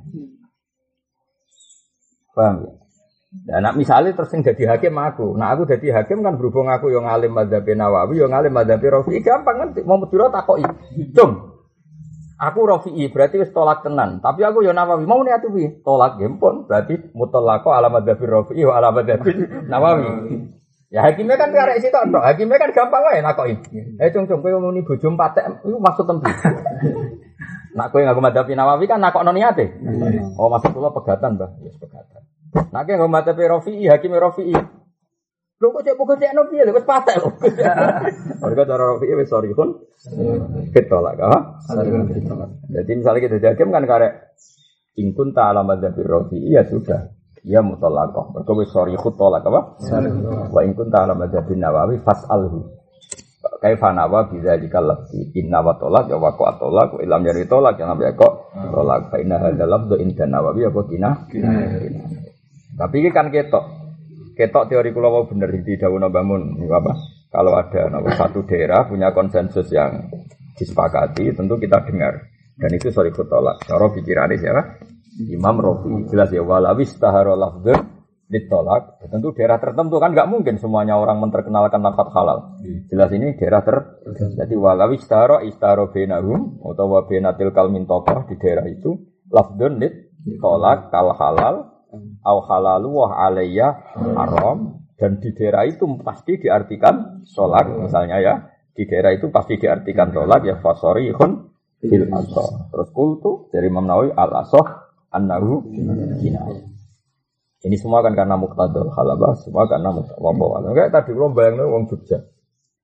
Paham ya? Ya, nak misalnya terus yang jadi hakim aku. Nah aku jadi hakim kan berhubung aku yang ngalim madzhab Nawawi, yang ngalim madzhab Rafi'i gampang kan mau medura takoki. Cung. Aku Rafi'i berarti wis tolak tenan. Tapi aku yang Nawawi mau niat piye? Tolak gempon berarti mutallaqo ala madzhab Rafi'i wa ala madzhab Nawawi. Ya hakimnya kan karek sitok tok. Hakimnya kan gampang wae nakoki. Cung kowe muni bojo patek iku maksud tempi. Nak kowe ngaku madzhab Nawawi kan nakokno niate. Oh maksud kula pegatan, Mbah. Wis pegatan. Nak yang madzhab Rafi'i, hakim Rafi'i. Lho kok cek pokokno piye lho wis patek lho. Mergo cara Rafi'i wis sorry pun ketolak ha. Jadi misalnya kita hakim kan karek ingkun ta'ala madzhab Rafi'i ya sudah. Ya mutallaqah. Mergo wis sorry khutolak apa? Wa ingkun ta'ala madzhab Nawawi fas'alhu. Kaifa nawa biza dikallati inna wa tolak ya waqa tolak wa ilam yari tolak ya nabi kok tolak fa inna hadzal lafdhu inda Nawawi apa kina. Tapi ini kan ketok teori kula wau bener di dawuh Mbah Mun apa? Kalau ada satu daerah punya konsensus yang disepakati tentu kita dengar. Dan itu sorry tolak. Cara pikirane siapa? Imam Rafi'i jelas ya walawis tahara lafdzun ditolak. Tentu daerah tertentu kan enggak mungkin semuanya orang menterkenalkan lafaz halal. Jelas ini daerah jadi walawis tahara istaro bainahum utawa bainatil kalmin tokoh di daerah itu lafdzun ditolak kal halal au halalu wa alayya haram dan di daerah itu pasti diartikan tolak misalnya ya di daerah itu pasti diartikan tolak ya fasorihun fil asah terus kultu dari Imam Nawawi al asah annahu kinayah. Ini semua kan karena muqtadul halabah semua karena muqtadul enggak tadi belum bayangno wong Jogja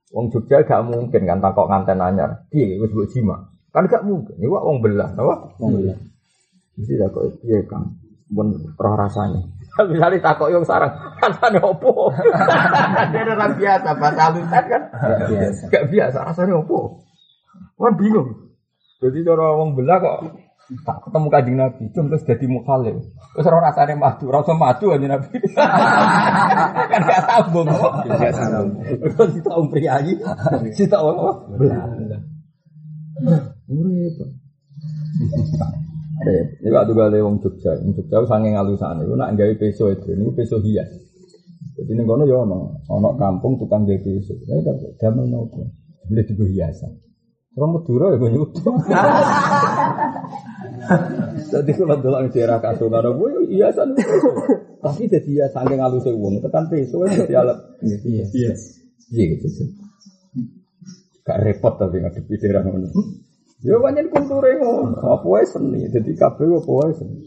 Wong Jogja gak mungkin kan takok nganten anyar. Piye wis mbok jima? Kan gak mungkin. Iku wong belah, apa? Wong belah. Mesti takok piye Kang? Mun roh rasane. Misale takok yo sarang, rasane opo? Dene ora biasa bahasa halusan kan? Gak biasa rasane opo? Kan bingung. Jadi cara wong belah kok tak ketemu Kanjeng Nabi, terus dadi mukhalif. Wis ora rasane madu, ora usah madu Kanjeng Nabi. Kan gak sambung kok. Gak sambung. Terus kita priayi, kita belah. Urip. Ini waktu gale wong Jogja, saking alusane, iku nak gawe peso itu, niku peso hias. Jadi ning kono ya ana kampung tukang gawe peso. Nek damel nopo? Beli digo hiasan. Ora Madura ya nyutuk. Dadi kula delok daerah Kasongan kuwi hiasan. Tapi dadi ya saking aluse wong, tekan peso dadi alat. Iya. Iya gitu. Gak repot tapi ngadepi daerah ngono. Ya pancen kulture ngono, apa wae seni, dadi kabeh apa wae seni.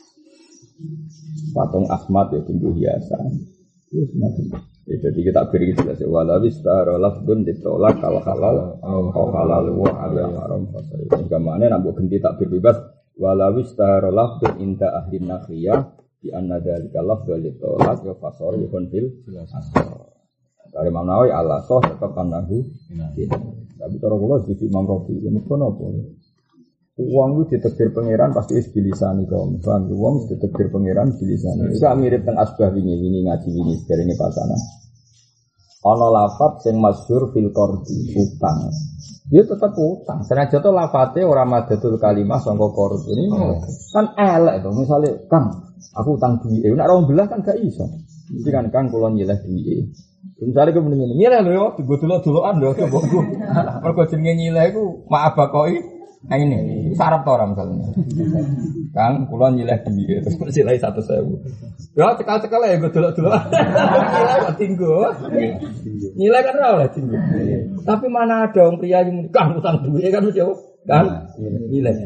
Patung Ahmad ya tinggu hiasan. Wis macam. Ya jadi kita beri jelas ya wala wistara lafdun ditolak kalau halal au halal wa haram fasai. Gamane nak mbok ganti takbir bebas wala wistara lafdun inda ahli nakhiyah di anna dzalika lafdun ditolak wa fasar yakun fil asar. Dari Imam Nawawi Allah soh tetap kanahu. Tapi cara kula sisi Imam Rafi, ya mesti napa. Uang itu ditakdir pangeran pasti wis bilisane kaum. Bang, uang wis ditakdir pangeran bilisane. Iku mirip teng asbah wingi ngaji wingi derenge pasanan. Ana lafaz sing masyhur fil qardi utang. Dia tetap utang. Senajan to lafate ora madatul kalimah sangka qardi. Ini kan elek to. Misale, Kang, aku utang duwike. Nek ora belah kan gak iso. Mesti kan Kang kula nyileh duwike. Misalnya aku mendingin nyileh lho, gue dulu-duluan lho, coba gue. Mergo jenenge nyileh iku maaf bakoi. Nah ini sarap to ora misalnya. Kang kula nyileh duwike terus silai 100.000. Ya cekal-cekal ya gue dulu-duluan. Nyileh kok tinggo. Nyileh kan ora oleh tinggo. Tapi mana ada wong priya yang Kang utang duwike kan mesti kan nyileh.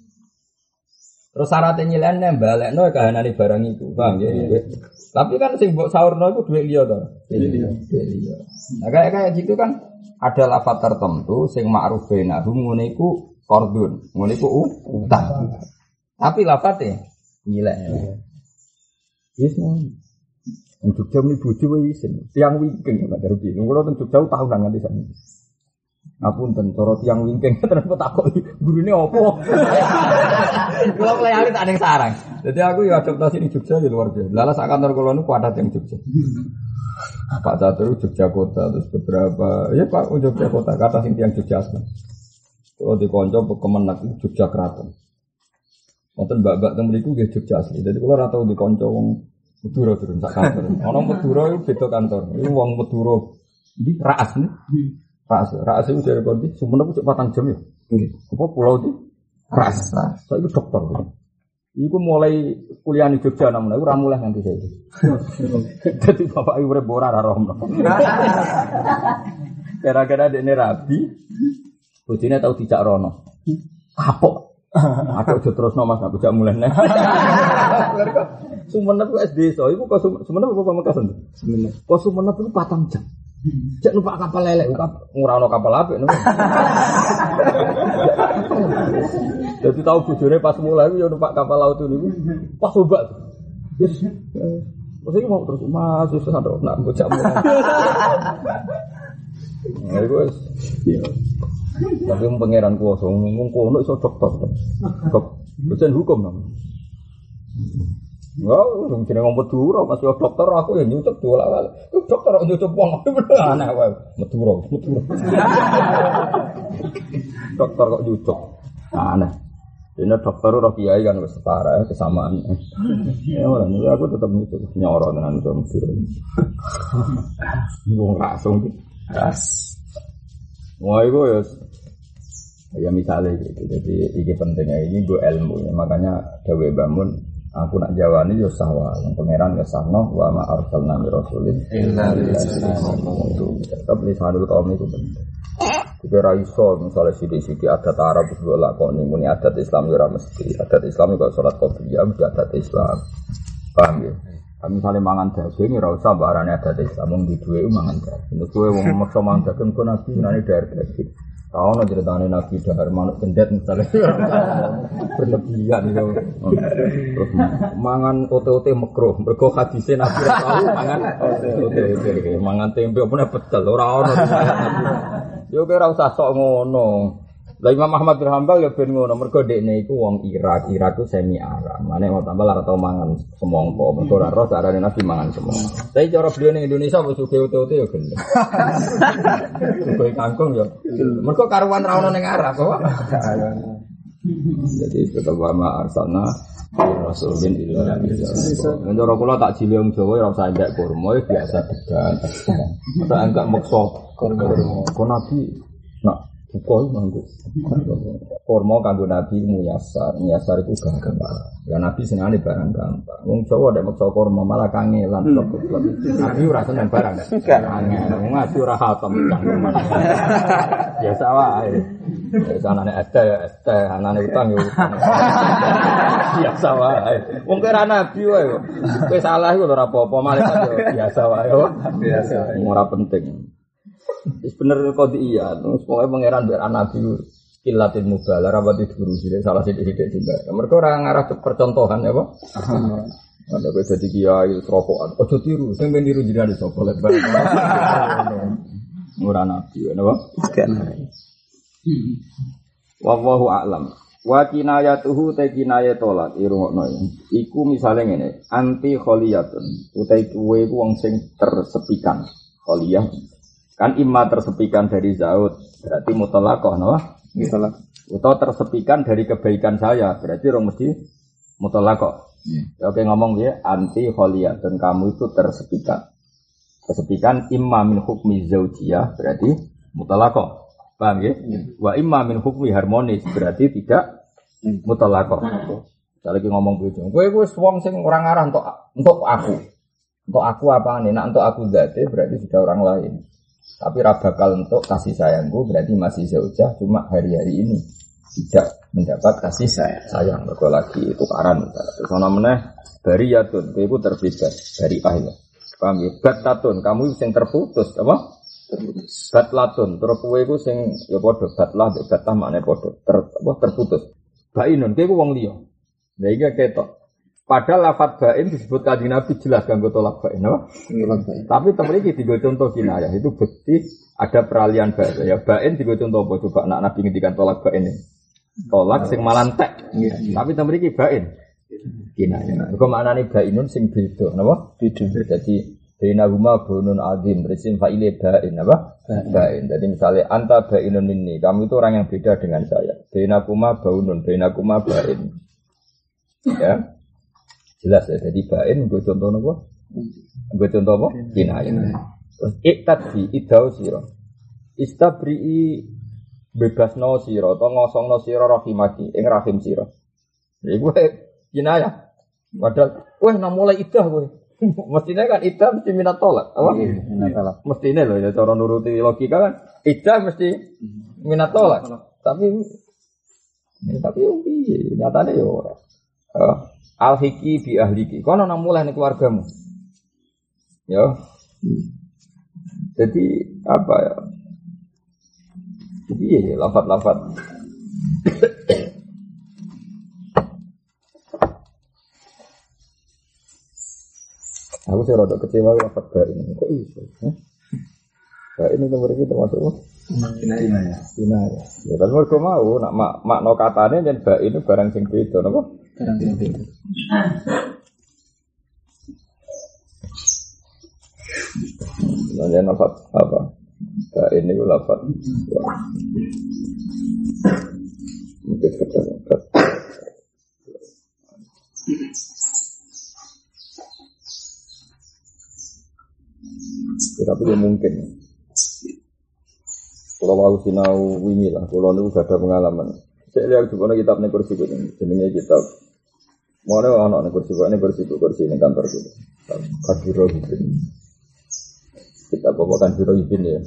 Terus syaratnya nyilehne balekno kahanane barang itu, paham ya? Tapi kan sing mbok saurno iku dhuwit liya to. Dhuwit liya. Nah kayak gitu kan ada lafaz tertentu sing ma'ruf bainahum ngene iku qardun, ngene iku utang. Tapi lafate nyileh. Yes no. Untuk jam ni bojo wis tiang wingking Pak Darbi. Kulo teng Jogja tahunan nganti sakniki. Ngapunten cara tiang wingking terus takok gurune opo. Kulo klayane tak ning sarang. Jadi aku ya adaptasi di Jogja ya luar biasa. Lala sak kantor kulo niku ada yang Jogja. Pak Catur Jogja kota terus beberapa ya Pak Jogja kota kata sing tiang Jogja asli. Kalau di kanca Kemenak Jogja Kraton. Wonten mbak-mbak teng mriku nggih Jogja asli. Jadi kulo ora tau di kanca wong Madura turun sak kantor. Ana Madura iku beda kantor. Iku wong Madura di Raas nih. Raas itu dari Kondi, Sumenep itu 4 jam ya. Apa pulau itu? Raas. Saya itu dokter. Iku mulai kuliah di Jogja namun aku ramulah nanti saya. Jadi bapak ibu rebora roh. Gara-gara dene rabi, bojone tau dijak rono. Kapok. Aku aja terusno Mas, aku jak mulai nek. Sumenep ku SD so, iku kok Sumenep apa Pamekasan? Sumenep. Kok Sumenep itu 4 jam. Cek numpak kapal lelek, ora ono kapal apik no. Jadi tahu bojone pas mulai yo numpak kapal laut niku pas obat. Wis iki mau terus Mas wis sadok nak bocah mulai. Ya wis. Tapi pangeran kuwasa ngomong kono iso dokter. Dosen hukum nang. Wow, jenenge ngomong Madura masih dokter aku ya nyucuk dola-wale. Dokter kok nyucuk wong aneh wae. Madura. Dokter kok nyucuk. Aneh. Dene dokter ora kiai kan wis setara kesamaan. Ya ora aku tetep nyucuk nyoro tenan wong Madura. Wong langsung gas. Wah iku ya misalnya gitu. Jadi ini pentingnya ini gue ilmu ya. Makanya Dawe Bangun aku nak jawani yo sahwa, pangeran ke sahno wa ma arsalna min rasulin illa tetap lisanul qaum itu penting. Jika ra iso misale sithik-sithik adat Arab wis lakoni muni adat Islam yo ora mesti. Adat Islam kok salat qobliyah mesti adat Islam. Paham ya? Kami misalnya mangan daging, ora usah barane ada Islam wong di duwe mangan daging. Terus kowe wong maksa mangan daging kok nabi nane dar daging. Tahu no ceritane nabi dahar manuk cendet misalnya berlebihan itu. Terus mangan ote-ote makruh. Mergo hadise nabi tahu mangan ote-ote. Mangan tempe opone pecel ora ono. Yo ora usah sok ngono. Lah Imam Ahmad bin Hanbal ya ben ngono, mergo dekne iku wong Irak. Irak ku semi Arab. Mane mau tambah ora tau mangan semongko. Mergo ora roh carane Nabi mangan semongko. Tapi cara beliau ning Indonesia wis uge-uge ya gelem. Suge kangkung ya. Mergo karuan ra ono ning Arab kok. Jadi tetep wa arsalna rasulin illa bi'iznihi. Cara kula tak jile wong Jawa ora usah ndek kurma biasa degan. Ora enggak maksa kurma. Kok Nabi nak Pukul manggu. Kurma kanggo Nabi muyasar itu gampang. Ya Nabi senengane barang gampang. Wong Jawa nek maksa kurma malah kangelan kok. Nabi ora seneng barang. Kangen. Wong Nabi ora hatam cangkem. Biasa wae. Anane ST, anane utang yo utang. Biasa wae. Wong kira Nabi wae. Kowe salah iku ora apa-apa, malaikat yo biasa wae. Biasa. Ora penting. Bener kodiyah, terus pokoknya pangeran biar anak nabi kilatin mubalah rapat itu guru sih, salah sidik-sidik juga. Mereka orang ngarah percontohan ya pak. Ada kau jadi kiai serokokan, oh tiru, saya meniru jadi ada sopo lebar. Murah nabi, ya pak. Wallahu a'lam. Wa kinayatuhu ta kinayatolak irungokno. Iku misale ngene, anti kholiyatun, utai kuwe ku wong sing tersepikan. Kholiyah kan imma tersepikan dari zaud, berarti mutlaqah napa? Mutlaq. Atau tersepikan dari kebaikan saya, berarti orang mesti mutlaqah. Oke ngomong ya, anti kholiyah dan kamu itu tersepikan. Tersepikan imma min hukmi zaujiyah, berarti mutlaqah. Paham ya? Wa imma min hukmi harmonis, berarti tidak mutlaqah. Saya lagi ngomong begitu. Kowe wong sing ora ngarah untuk aku. Untuk aku apa nih? Nak untuk aku zate berarti sudah orang lain. Tapi bakal untuk kasih sayangku berarti masih zaujah, cuma hari-hari ini tidak mendapat kasih sayang. Mergo lagi tukaran. Terus ana meneh bariyatun, kowe iku terbebas dari ahli. Paham ya? Batatun, kamu sing terputus apa? Terputus. Batlatun, terus kowe iku sing ya padha batlah maknane padha terputus. Bainun, kowe iku wong liya. Lah iki ketok. Padahal lafadz bain disebut kanjeng Nabi jelas kanggo tolak bain, apa? Tapi temen iki digo contoh kinayah itu bukti ada peralihan bahasa ya. Bain digo contoh apa coba nak Nabi ngendikan tolak bain ini. Tolak sing malantek. Tapi temen iki bain. Kinayah. Mergo maknane bainun sing beda, napa? Beda. Jadi bainahuma bunun azim, resim fa'ile bain, apa? Bain. Jadi misalnya anta bainun minni, kamu itu orang yang beda dengan saya. Bainakuma baunun, bainakuma bain. Ya. Jelas ya, jadi bain gue contoh apa? Gue contoh apa? Kinayah. Terus iktadzi idau siro, istabri'i bebasno siro, atau ngosongno siro rahimaki, ing rahim siro. Jadi gue kinayah. Padahal, mulai idah gue. Mestinya kan idah mesti minat tolak, apa? Mestinya loh ya, cara nuruti logika kan, idah mesti minat tolak. Tapi nyatanya ya orang. Al-hiki bi ahliki. Kono nang mulai ning keluargamu. Ya. Jadi apa ya? Jadi lafaz-lafaz. Aku sih rada kecewa lafaz bain. Kok iso? Bain itu berarti termasuk apa? Kinayah. Ya kan mergo mau nak makna katane yen bain itu barang sing beda napa? Barang sing beda. Nanya lafaz apa? Bain itu lafaz. Mungkin kata. Tapi mungkin. Kalau mau sinau wingi lah, kalau nu gak ada pengalaman. Saya lihat juga kitab nih kursi ini, jenenge kitab. Mau ada anak nih kursi ini kantor gitu. Kadiro gitu. Kita bawakan Kadiro gitu ya.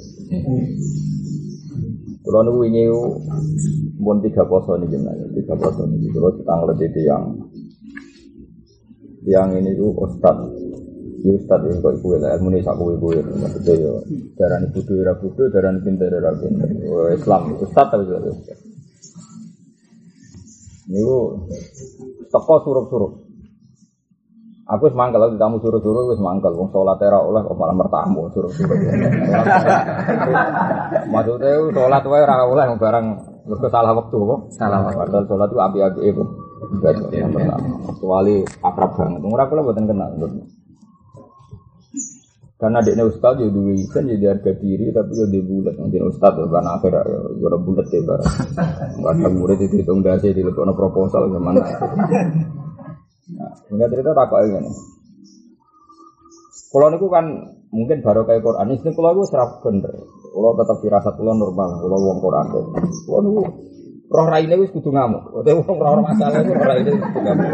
Kalau nu wingi pun 3 poso nih gimana? 3 poso nih. Kalau kita ngeliat itu yang ini tuh ustad Ya Ustaz ya kok iku lah ilmu sak kowe maksudnya yo darani bodho ora bodho darani pinter ora pinter. Islam Ustaz ta wis. Niku teko surup-surup. Aku wis mangkel lagi tamu surup-surup wis mangkel wong salat ora oleh kok malah mertamu surup-surup. Maksudnya salat wae ora oleh barang mergo salah wektu kok. Salah waktu. Padahal salat itu api-api itu. Kecuali akrab banget. Ora kula mboten kenal. Karena adiknya Ustaz ya duwe ikan jadi harga diri tapi ya dia bulat mungkin Ustaz ya kan akhir ya ora bulat ya barang. Kadang murid itu hitung dasi dilebokno proposal gimana. Nah, enggak cerita takok ngene. Kalau niku kan mungkin baru kayak Quran ini kalau aku serap bener. Kalau tetap firasat kula normal, kalau wong Quran. Kalau niku roh raine wis kudu ngamuk. Utawa wong ora masalah iku roh raine kudu ngamuk.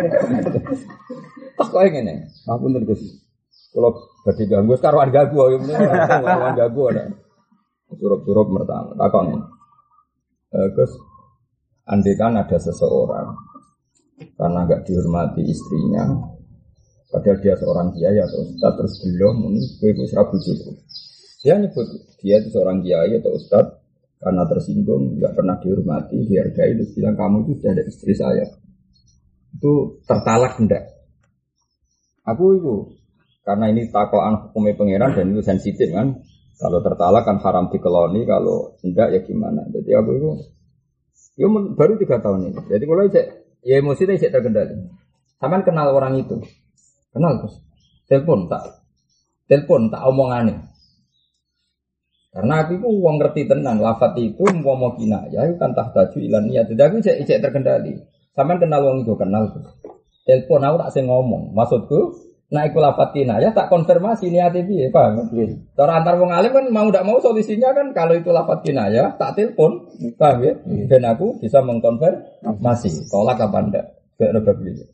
Takok ngene. Ngapunten Gus. Kalau badhe ganggu karuan ganggu ya mesti karuan ganggu ada. Surup-surup mertang. Takon. Gus, andekan ada seseorang karena enggak dihormati istrinya, padahal dia seorang kiai atau ustaz terus belum muni kowe wis ra bojoku. Dia nyebut dia itu seorang kiai atau ustaz karena tersinggung, enggak pernah dihormati, dihargai terus bilang kamu itu sudah ada istri saya. Itu tertalak enggak? Aku itu karena ini takokan hukumnya pangeran dan itu sensitif kan. Kalau tertalak kan haram dikeloni, kalau enggak ya gimana. Jadi aku itu ya baru 3 tahun ini. Jadi kalau ya emosi saya terkendali. Sampean kenal orang itu. Kenal terus. Telepon tak omongane. Karena aku itu wong ngerti tenan lafaz itu mau kinayah itu kan tahtaju ilan niat. Jadi aku cek terkendali. Sampean kenal wong itu kenal terus. Telepon aku tak sing ngomong. Maksudku nah iku lafaz kinayah tak konfirmasi niate piye, paham? Nggih. Cara antar wong alim kan mau ndak mau solusinya kan kalau itu lafaz kinayah tak telepon, paham ya? Dan aku bisa mengkonfirmasi tolak apa ndak. Gak ada beli.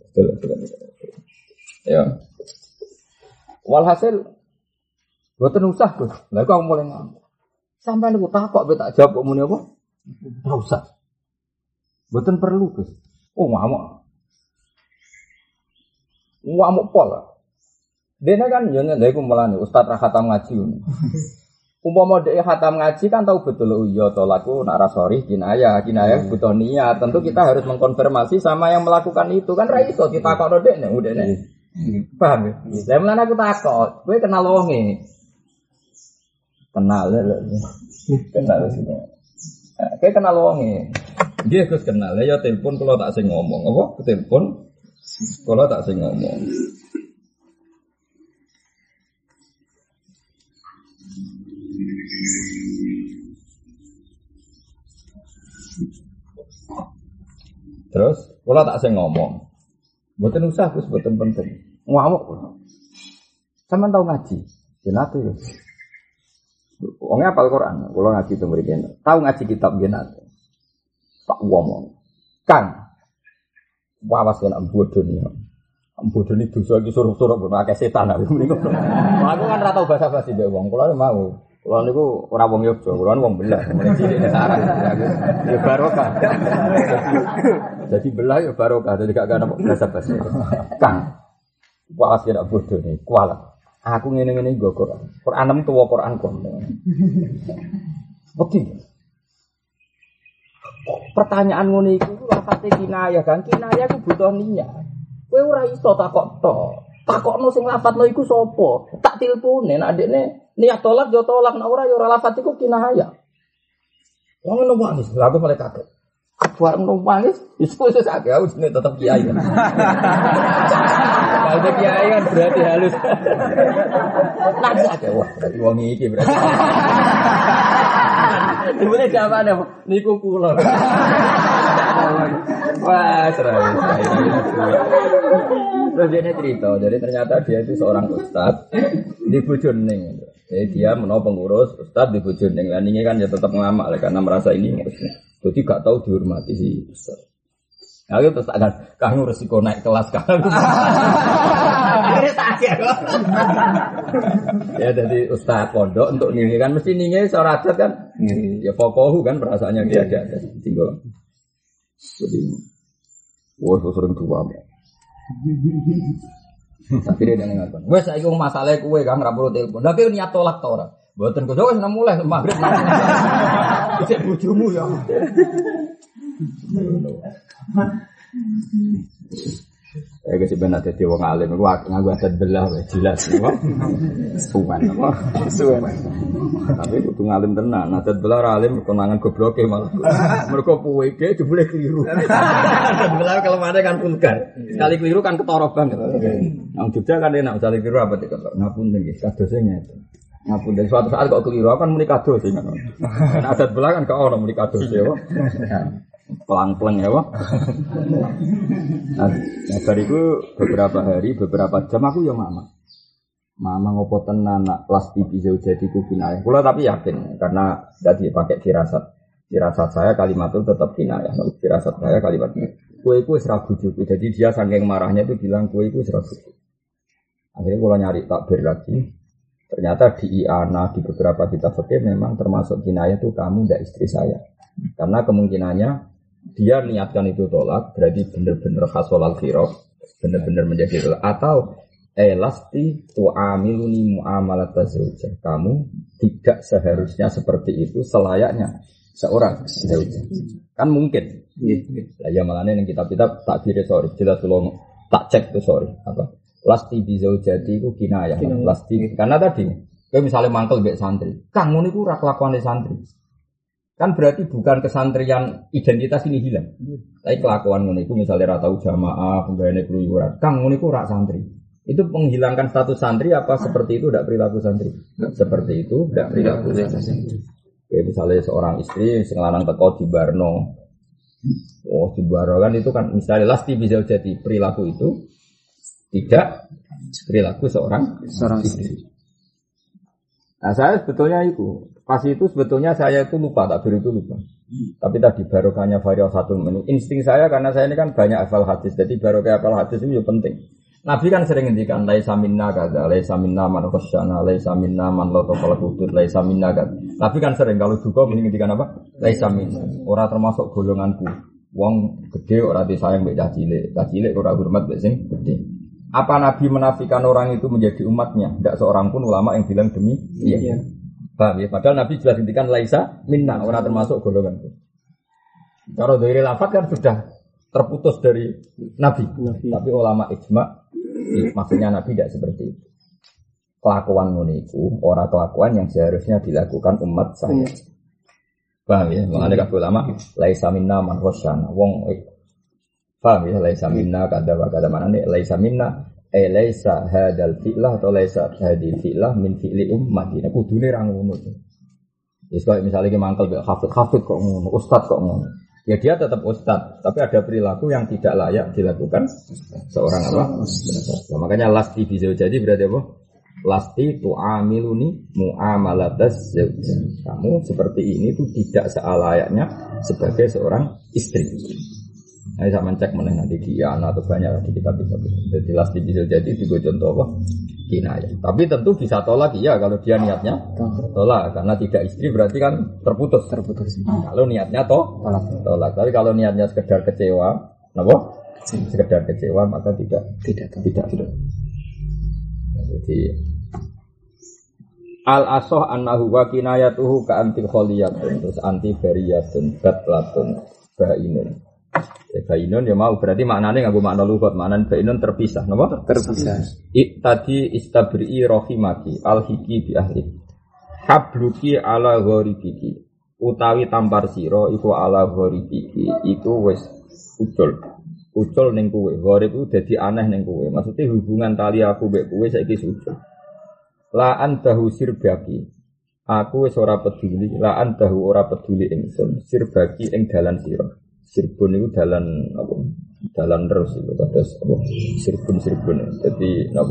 Ya. Walhasil boten usah, Gus. Lah kok mulai ngomong. Sampai niku takok tak jawab kok muni apa? Ora usah. Boten perlu, Gus. Oh, ngamuk. Ngamuk pol. Dene kan yo ndek iku melane ustaz ra khatam ngaji. Umpama dhek khatam ngaji kan tahu betul oh iya to laku nak ra sori kinayah butuh niat. Tentu kita harus mengkonfirmasi sama yang melakukan itu kan ra iso ditakokno dhek nek udene. Paham ya? Lah mulane aku takok, kowe kenal wonge. Kenal sih. Kowe kenal wonge. Nggih Gus kenal. Ya telepon kula tak sing ngomong. Apa? Telepon kula tak sing ngomong. Terus, kalau tak saya ngomong, mboten usah, Gus, mboten penting. Ngamuk. Sampeyan tau ngaji? Jenate, Gus. Wong apal Quran, kula ngaji teng mriki. Tau ngaji kitab jenate. Tak ngomong. Kang. Wawas kena bodoni. Bodoni dosa iki suruh-suruh ben akeh setan aku mriki. Aku kan ora tau basa-basi mbek wong, kula mau. Kula niku ora wong Yogya, kula wong belah, mulai cilik sarang. Ya barokah. Jadi belah ya barokah, jadi gak ana basa-basi. Kang. Wawas kena bodoni, kualat. Aku ngene-ngene nggo Quran. Quran tuwa Quran kon. Bukti. Pertanyaan ngono iku lafate kinayah kan. Kinayah ku butuh niat. Kowe ora iso takok tok. Takokno sing lafadzno iku sapa? Tak tilpune nek adekne niat tolak yo tolak nek ora yo ora lafadz iku kinayah. Wong ngono wae wis aku mulai kaget. Aku arep nangis, wis akeh aku jenenge tetep kiai. Kalau kiai kan berarti halus. Nangis akeh wah, berarti wong iki berarti. Dimulai jawabane niku kula. Wah, serai. Terus dia cerita, jadi ternyata dia itu seorang ustaz di Bojoneging. Jadi dia menawa pengurus ustaz di Bojoneging. Lah ini kan ya tetap ngelamak karena merasa ini jadi gak tahu dihormati si ustaz. Nah, itu terus akan kamu resiko naik kelas kan. Ya jadi ustaz pondok untuk ningi kan mesti ningi seorang adat kan. Ya pokohu kan perasaannya dia ada tinggal. Jadi wah sering tua. Tapi dia ngakon. Wes saiki wong masalahe kowe Kang ra perlu telepon. Lah kowe niat tolak ta ora? Mboten kok wis mulai magrib. Cek bojomu ya. Kasi benar dadi wong alim iku nganggo adat belah wis jelas apa. Suwan apa? Suwan. Tapi kudu ngalim tenan, adat belah ra alim konangan gobloke malah. Mergo puweke jebule keliru. Adat belah kalau ada kan vulgar. Sekali keliru kan ketara banget. Nang Jogja kan enak sekali keliru apa dikotok. Ngapunten nggih, kadose ngeten. Ngapunten suatu saat kok keliru kan muni kados sing ngono. Nek adat belah kan gak ono muni kados ya. Pelang-pelang ya, Pak. Nah, bariku beberapa hari, beberapa jam aku ya mama ngopo tenan nak lasti bisa jadi kinayah. Kula tapi yakin karena tadi pakai firasat saya kalimat itu tetap kinayah. Firasat saya kalimat kue iku wis ra bojoku. Jadi dia saking marahnya itu bilang kue iku wis ra bojoku. Akhirnya kula nyari takbir lagi. Ternyata di Iana di beberapa kitab fikih memang termasuk kinayah itu kamu ndak istri saya. Karena kemungkinannya dia niatkan itu tolak, berarti benar-benar hasolal khirof, benar-benar menjadi tolak. Atau elasti tu'amiluni mu'amalat tazawujah. Kamu tidak seharusnya seperti itu selayaknya seorang tazawujah. Kan mungkin. Lah ya malahnya yang kitab-kitab takbir sorry, jelas tolong tak cek tuh sorry apa. Lasti bizaujati itu kinayah. Lasti karena tadi kayak misalnya mangkel mbek santri. Kang ngono iku ora kelakuane santri. Kan berarti bukan kesantrian identitas ini hilang. Tapi kelakuan ngono iku misalnya ra tau jamaah, penggaweane keluyuran. Kang ngono iku ra santri. Itu menghilangkan status santri apa seperti itu tidak perilaku santri? Seperti itu tidak perilaku santri. Kayak misalnya seorang istri sing lanang teko di barno. Oh, di barno kan itu kan misalnya lasti bisa jadi perilaku itu tidak perilaku seorang istri. Nah saya sebetulnya itu pas itu sebetulnya saya itu lupa takbir itu lupa. Tapi tadi barokahnya variasatul menu. Insting saya karena saya ini kan banyak hafal hadis. Jadi barokah hafal hadis itu penting. Nabi kan sering ngendikan laisa minna kadza, laisa minna man khasyana, laisa minna man lataqal hudud, laisa minna kadza. Nabi kan sering kalau juga ngendikan apa? Laisa minna. Ora termasuk golonganku. Wong gede ora disayang mbek cah cilik. Cah cilik ora hormat mbek sing gede. Apa Nabi menafikan orang itu menjadi umatnya? Tidak seorang pun ulama yang bilang demi iya. Paham ya? Padahal Nabi jelas intikan laisa minna, orang termasuk golongan itu. Kalau dari lafaz kan sudah terputus dari Nabi. Tapi ulama ijma, maksudnya Nabi tidak seperti itu. Kelakuan muniku, orang kelakuan yang seharusnya dilakukan umat saya. Paham ya? Mengenai ulama laisa minna man khasyana. Wong paham ya, laisa minna kada mana nih laisa minna laisa hadal fi'lah atau laisa hadil fi'lah min fi'li ummati. Nah kudune ra ngono. Wis kok misalnya ki mangkel mbek hafid kok ngono, ustaz kok ngono. Ya dia tetap ustaz, tapi ada perilaku yang tidak layak dilakukan seorang apa? Nah, makanya lasti bisa jadi berarti apa? Lasti tu'amiluni mu'amalatas zaujah. Kamu seperti ini tuh tidak selayaknya sebagai seorang istri. Nah, saya mencek mana nanti di Iana atau banyak di kitab-kitab. Jadi lasti bisa jadi juga contoh apa? Kinayah. Tapi tentu bisa tolak ya kalau dia niatnya tolak karena tidak istri berarti kan terputus. Kalau niatnya tolak. Tapi kalau niatnya sekedar kecewa, kenapa? Sekedar kecewa maka tidak. Jadi al-asoh annahu wa kinayatuhu ka antil kholiyatun terus anti bariyatun batlatun bainun. Bainun ya mau berarti maknanya nganggo makna lughat, maknane bainun terpisah, napa? Terpisah. Tadi istabri rahimaki alhiki bi ahli. Habluki ala gharibiki. Utawi tampar sira iku ala gharibiki, iku wis ucul ning kowe. Gharib iku dadi aneh ning kowe. Maksudnya hubungan tali aku mbek kowe saiki ucul. La antahu sirbaki. Aku wis ora peduli, la antahu ora peduli ingsun sirbaki ing dalan sira. Sirbun itu dalan apa? Dalan terus itu terus apa? Sirbun. Jadi apa?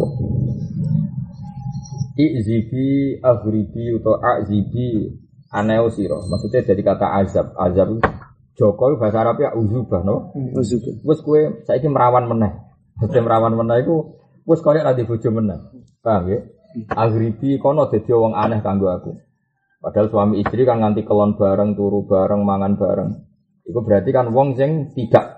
Izibi aghribi atau azibi aneo sira. Maksudnya dari kata azab. Azab Joko bahasa Arab ya uzubah no. Uzubah. Wes kowe saiki merawan meneh. Dadi merawan meneh iku wes koyo ra di bojo meneh. Paham ya? Aghribi kono dadi wong aneh kanggo aku. Padahal suami istri kan nganti kelon bareng, turu bareng, mangan bareng. Itu berarti kan wong sing tidak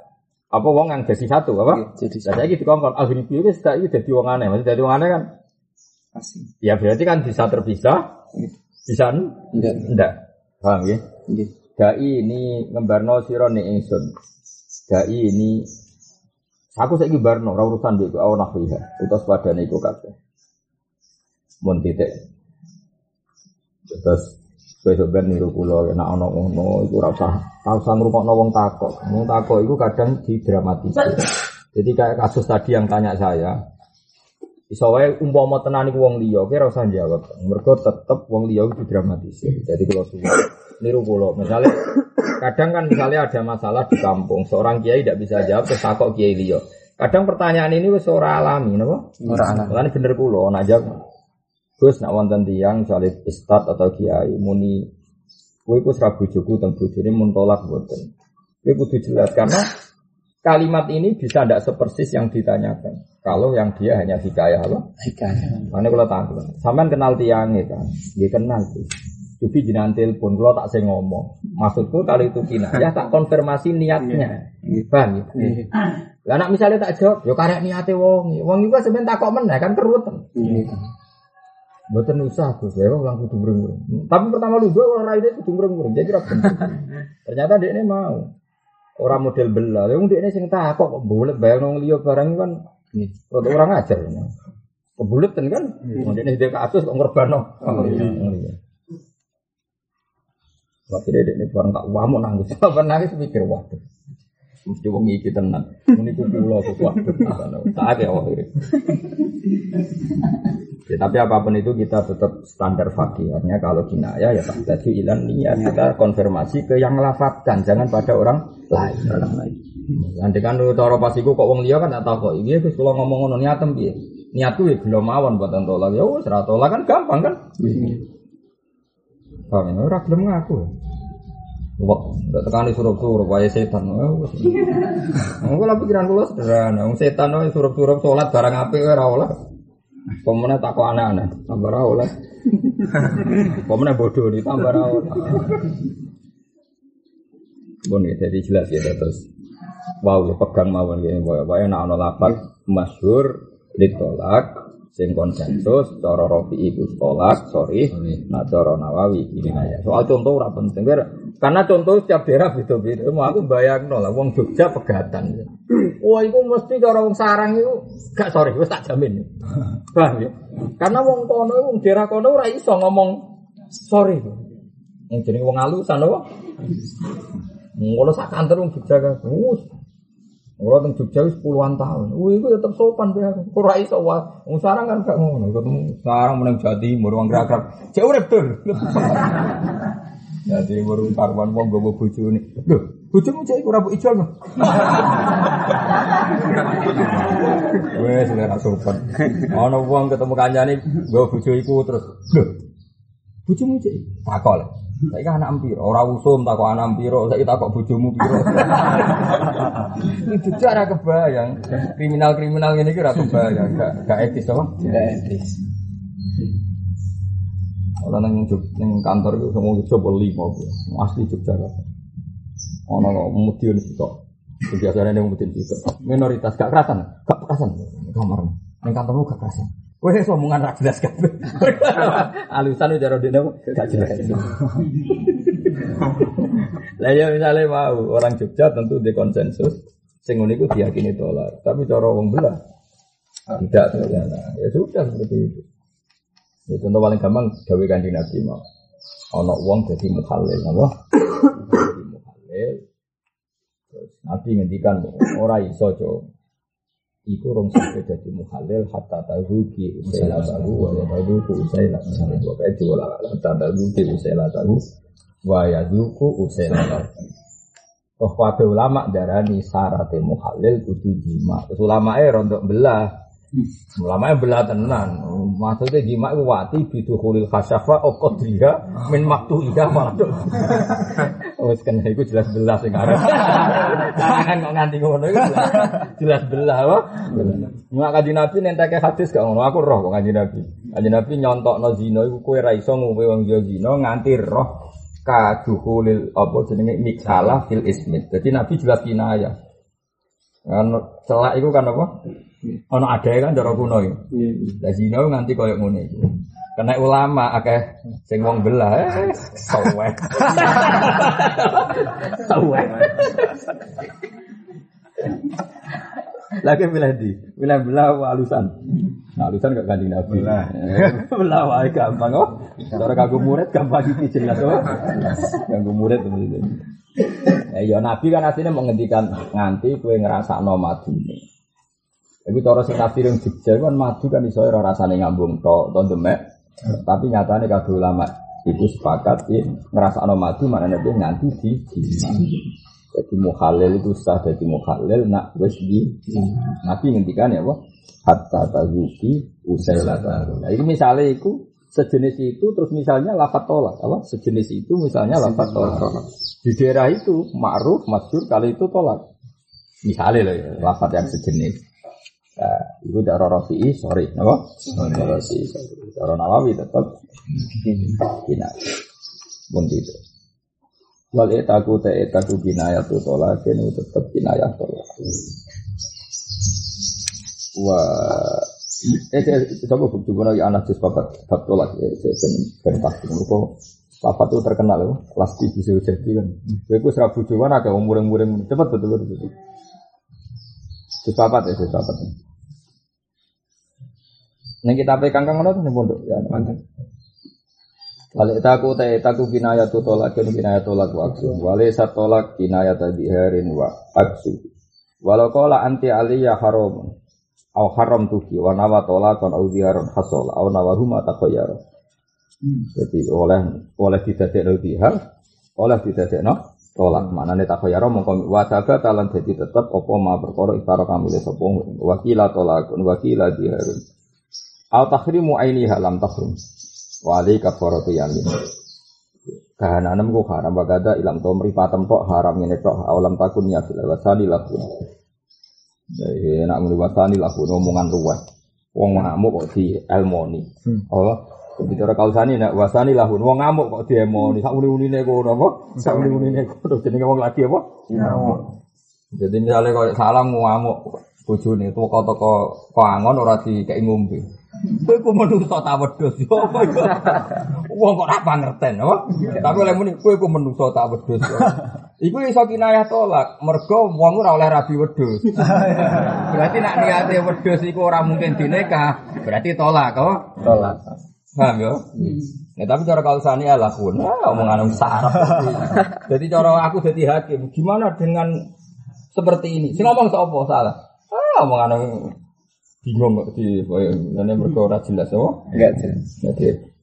Apa wong yang jadi satu apa? Jadi saya gitu kan Al-Ghribi itu sudah itu jadi wong aneh. Maksudnya jadi wong aneh kan? Asing. Ya berarti kan bisa terpisah, bisa enggak. Paham ya? Dai ini ngembarno sira ning ingsun. Dai ini aku saiki barno ora urusan mbek aku nahwiha. Utus padane iku kabeh. Mun titik. Terus besok ben niru kula nek ana ngono iku ora usah ngrungokno wong takok. Wong takok iku kadang didramatisir. Jadi kayak kasus tadi yang tanya saya, iso wae umpama tenan iku wong liya, kira usah jawab. Mergo tetep wong liya iku didramatisir. Jadi kalau suwe niru kula, misalnya kadang kan misalnya ada masalah di kampung, seorang kiai tidak bisa jawab terus takok kiai liya. Kadang pertanyaan ini wis ora alami, napa? Ora alami. Lan bener kula ana jawab. Gus nak wonten tiyang salib ustad atau kiai muni kowe iku sra bojoku teng bojone mun tolak mboten. Kowe kudu jelas karena kalimat ini bisa ndak sepersis yang ditanyakan. Kalau yang dia hanya hikayah apa? Hikayah. Mane kula takon. Sampeyan kenal tiyange kan? Nggih kenal sih. Tapi jenengan telepon kula tak sing ngomong. Maksudku kalau itu kinayah tak konfirmasi niatnya. Paham ya? Lah nek misale tak jawab, ya karek niate wong. Wong iku sampeyan takok meneh kan keruwet. Mboten usah Gus, ya wong kudu mreng-mreng. Tapi pertama lu gua ora ide kudu mreng-mreng. Jadi kira ternyata dekne mau. Ora model bela. Wong dekne sing takok kok bulet bayang wong liya barang kan rada ora ngajar. Kebuleten kan. Wong dekne dhewe kasus kok ngorbano. Waktu dekne barang tak wamu nangis. Apa nangis mikir waduh. Mesti wong iki tenan. Muni ku kula kok waduh. Tak ya wae. Ya, tapi apapun itu kita tetap standar fakih. Artinya kalau kinayah ya tadi ilan niat kita konfirmasi ke yang melafadzkan, jangan pada orang lain. Nanti kan cara pasiku kok wong liya kan tak tahu kok. Iki wis kula ngomong ngono niatem piye? Niatku ya belum mawon buat tolak. Ya wis ra tolak kan gampang kan? Paham ora gelem ngaku. Wah, ndak tekani surup-surup wae setan. Kula pikiran kula sederhana, wong setan wae surup-surup salat barang apik ora oleh. Pemene takok anak-anak, tambah ra oleh. Pemene bodoh di tambah ra oleh. Bon ya jadi jelas ya terus. Wow, ya pegang mawon ya wae nek ana lafaz masyhur ditolak sing konsensus cara Rafi'i iku tolak, sorry. Nah cara Nawawi ini ya. Soal contoh ora penting karena contoh setiap daerah beda-beda. Mau aku bayangno lah wong Jogja pegatan. Wah, iku mesti cara wong Sarang iku gak sorry, wis tak jamin. Paham ya? Karena wong kono wong daerah kono ora iso ngomong sorry. Wong jenenge wong alusan apa? Ngono sak kantor wong Jogja kan. Ora teng Jogja wis puluhan tahun. Iku tetep sopan bae. Ora iso wae. Wong Sarang kan gak ngono. Ketemu Sarang meneng Jawa Timur wong Krakrab. Cek urip tur. Jadi baru karwan wong gowo bojone. Lho, bojomu cek ora mbok ijol. Wes ora sopan. Ana wong ketemu kancane nggo bojo iku terus. Lho. Bojomu cek takol. Saiki anak piro? Ora usum takok anak piro, saiki takok bojomu piro. Iki ora kebayang. Kriminal-kriminal ngene iki ora kebayang, gak etis apa? Gak etis. Ora nang kantor iku semua coba 5 asli Jogja. Ana kok mudin sitok. Biasane ning mudin sitok. Minoritas gak kerasan, gak kerasan. Kamar ning kantormu gak kerasan. Kowe wis omongan ra jelas kabeh. Alusan cara dene gak jelas. Lah ya misale mau orang Jogja tentu di konsensus sing ngene iku diyakini tolak. Tapi cara wong belah tidak ternyata. Ya sudah seperti itu. Ya contoh paling gampang gawe Kanjeng Nabi mau. Ana wong dadi muhalil, apa? Dadi muhalil. Terus Nabi ngendikan ora iso, Cuk. Iku rong sampe dadi muhalil hatta tazuki usaila tahu wa yaduku usaila tahu. Kae diolah hatta tazuki usaila tahu wa yaduku usaila tahu. Toh kabeh ulama darani syaraté muhalil kudu jima. Terus ulamae rondok belah. Ulama belah tenan. Maksudnya jima iku wati bidukhulil khasyafa qadriha min maktuhiha malah. Wes kan iku jelas belah sing arep. Kan kok nganti ngono iku jelas belah apa? Nek Kanjeng Nabi nenteke hadis gak ngono, aku roh kok Kanjeng Nabi. Kanjeng Nabi nyontokno zina iku kowe ra iso ngombe wong zina nganti roh kadukhulil apa jenenge niksalah fil ismit. Dadi Nabi jelas kinayah. Kan celak iku kan apa? Ono adae kan cara kuno iki. Lah zina nganti koyo ngene iku. Kena ulama akeh sing wong belah sowek. Sowek. Lagi milih di, milih belah alusan. Nah, alusan gak ganti Nabi. Belah wae gampang kok. Cara kanggo murid gampang iki jelas kok. Kanggo murid itu. Ya Nabi kan asline mau ngendikan nganti kowe ngrasakno madune. Iku cara sing tafsir yang Jogja kan madu kan iso ora rasane ngambung tok to demek. Tapi nyatane kabeh ulama itu sepakat ya ngrasakno madu maknane dia nganti di jadi mukhalil itu sah jadi mukhalil nak wis di Nabi ngendikan ya apa hatta tazuki usailata. Nah ini misalnya itu sejenis itu terus misalnya lafaz tolak apa sejenis itu misalnya lafaz tolak di daerah itu ma'ruf masyhur kali itu tolak misalnya loh ya, lafaz yang sejenis. Nah, itu cara Rafi'i, sorry, apa? Cara Nawawi tetap kina, pun itu. Wal etaku kinayat tu tolak, ini tetap kinayat tolak. Wah, coba bukti guna ya anak jus papat bab tolak, saya pasti mereka papat itu terkenal loh, pasti bisa jadi kan. Aku serabu cuman agak umur-umur cepat betul. Jus papat ya, jus papat. Neng kita pegang kang ngono ning pondok ya manten. Wale taku kinayat tolak kinayat tolak waktu. Wale satolak kinayat diharin wa aksu. Walau qala anti aliyya haram au haram tuki wa nawa tolakon au diharon hasol au nawahuma taqayyar. Jadi oleh didadekno dihar, oleh didadekno tolak. Maknane taqayyar mongko wasaga talan dadi tetep apa ma perkara istara kamile sapa wakila tolakun wakila diharun. Au takhrimu ainiha lam takhrim. Wa alika faratu yamin. Kahananem ku haram bagada ilam to mripatem tok haram ngene tok awalam takun ya fil wasani lakun. Ya nak muni wasani lakun omongan luwes. Wong ngamuk kok di elmoni. Oh, bicara kausani nek wasani lakun wong ngamuk kok di elmoni. Sak muni-munine kono apa? Sak muni-munine kono jenenge wong lagi apa? Ngamuk. Jadi misalnya kok salam ngamuk bojone toko-toko koangon ora dikeki ngombe. Kowe ku menungso tak wedhus yo apa yo. Wong kok ora pangerten apa? Tapi oleh muni kowe ku menungso tak wedhus. Iku iso kinayah tolak, mergo wong ora oleh rabi wedhus. Berarti nek niate wedhus iku ora mungkin dinikah, berarti tolak kok. Tolak. Paham yo? Nah, tapi cara kausane ala kun, omongan sarap. Jadi cara aku dadi hakim, gimana dengan seperti ini? Sing ngomong sapa salah? Omongan bingung kok di ngene mergo ora jelas apa? Enggak jelas. Jadi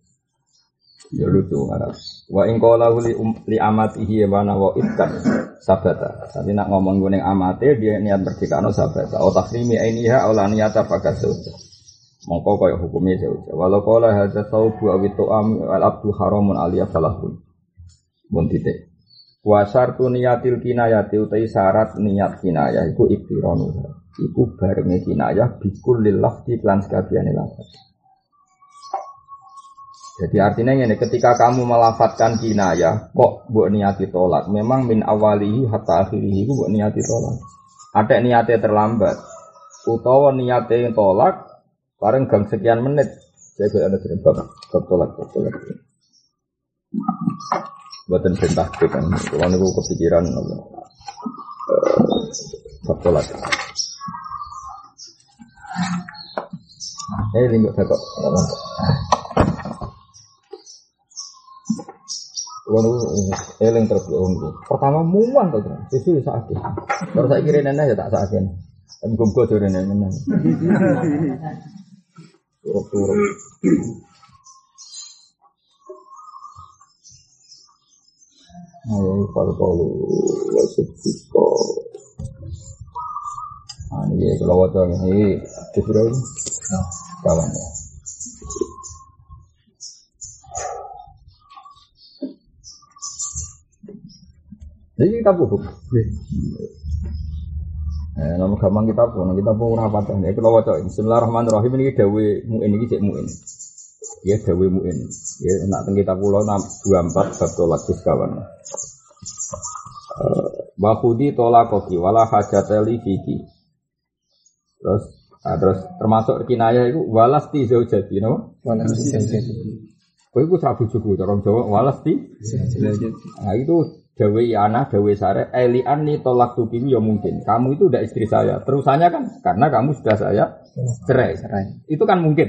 ya lucu arep. Wa in qala li amatihi wa nawa ittan sabata. Tapi nak ngomong ning amate dia niat merdekano sabata. O takrimi ainiha aw la niyata fakat sauja. Mongko kaya hukume sauja. Walau qala hadza saubu aw tu'am al abdu haramun aliyah falahun. Mun titik. Wa syartu niyatil kinayati utai syarat niat kinayah iku iktiranu. Iku barenge kinayah bikul lil lafzi lan sakabehane lafaz. Jadi artinya ngene, ketika kamu melafatkan kinayah kok mbok niati tolak, memang min awalihi hatta akhirihi iku mbok niati tolak. Ada niate terlambat utawa niate tolak bareng gang sekian menit. Saya ada bab tolak. Buatan perintah kan, kalau niku kepikiran bab tolak. Lingkup kok. Kalau eling terus pertama muan to, susu sakit. Terus saya kira nenek ya tak sakit. Tapi gumgo jare nenek. Turun. Ayo kalau wasip ini kalau waktu ini disuruh kawan ya. Jadi kita buku. Nama gampang kita pun rapat ya. Kalau waktu Bismillahirrahmanirrahim ini dawe muin ini cek muin. Ya dawe muin. Ya nak kita pulau 24 bab tolak kawan. Bakhudi tolakoki wala hajateli fiki. Terus termasuk kinayah itu walasti zaujati, no? Walasti zaujati. Kowe iku sak bojoku cara Jawa walasti zaujati. Nah itu dawe ana dawe sare eliani tolak tuki ya mungkin. Kamu itu udah istri saya. Terusannya kan karena kamu sudah saya cerai. Itu kan mungkin.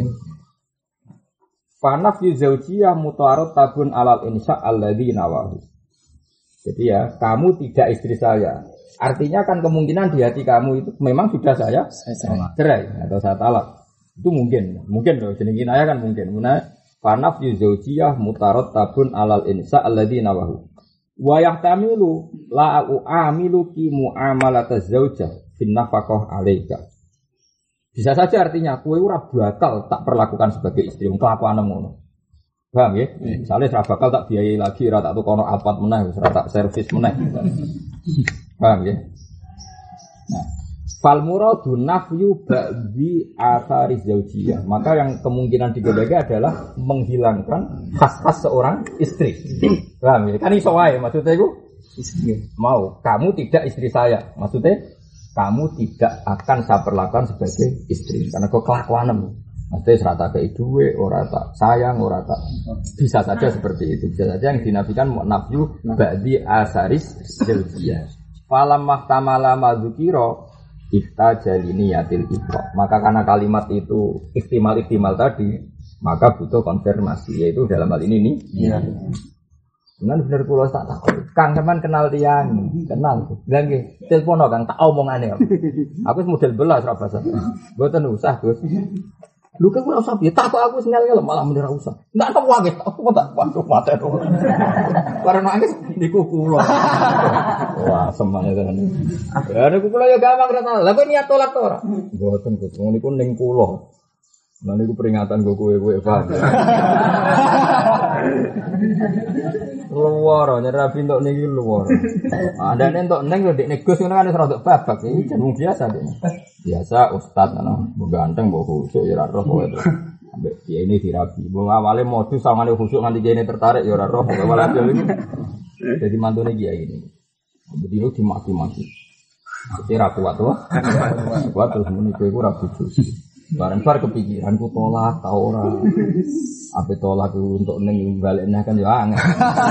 Fanaf yuzaujiyah mutaarad tabun alal insya alladzi nawahu. Jadi ya, kamu tidak istri saya. Artinya kan kemungkinan di hati kamu itu memang sudah saya cerai atau saya talak. Itu mungkin loh. Jeneng kinayah kan mungkin. Fanaf yuzaujiyah mutaarad tabun alal insya alladzi nawahu. Wa yahtamilu la u'amiluki mu'amalataz zaujah fin nafaqah 'alaika. Bisa saja artinya kowe ora bakal tak perlakukan sebagai istri wong kelakuan ngono. Paham ya? Misale ora bakal tak biayai lagi, ora tak tukono alpat meneh, ora tak servis meneh. Paham ya? Nah, fal muradu nafyu ba'di athari zaujiyah. Maka yang kemungkinan digodhega adalah menghilangkan khas-khas seorang istri. Paham ya? Kan iso wae maksudnya iku mau kamu tidak istri saya. Maksudnya kamu tidak akan saya perlakukan sebagai istri karena kau kelakuanem. Maksudnya serata ke duwe, ora tak sayang, ora tak bisa saja seperti itu. Bisa saja yang dinafikan nafyu ba'di asaris zaujiyah. Falam mahtamala madzukira ihtajalini yatil ibra. Maka karena kalimat itu ihtimal tadi, maka butuh konfirmasi yaitu dalam hal ini nih. Iya. Benar kula tak takut. Kang sampean kenal tiyang, kenal. Lah nggih, telepono Kang tak omongane. Aku wis model belas ora basa. Mboten usah, Gus. Lu kan ora usah piye, takok aku ngel-ngel malah mendira usah. Ndak tak wae, aku tak waduh mate. Karena nangis niku kula. Wah, semangat tenan. Ya niku kula ya gampang ra. Lah kok niat tolak to ora? Mboten, Gus. Niku ning kula. Lah niku peringatan go kowe-kowe, Pak. Luar, nyerah pintu niki luar. Ada nentok neng lo dek negus ngono kan serada babak iki jeneng biasa dek. Biasa ustaz ana, mbok ganteng mbok khusuk ya ora roh kowe to. Ambek kiai ini dirabi. Mbok awale modus sangane khusuk nganti kiai tertarik ya ora roh kowe walhasil iki. Jadi mantune kiai ini. Bedino dimaki-maki. Kira kuat to. Kuat terus muni kowe ora bojo. Bareng-bareng kepikiranku tolak ta ora. Ape tolak untuk ning balekne kan ya angel.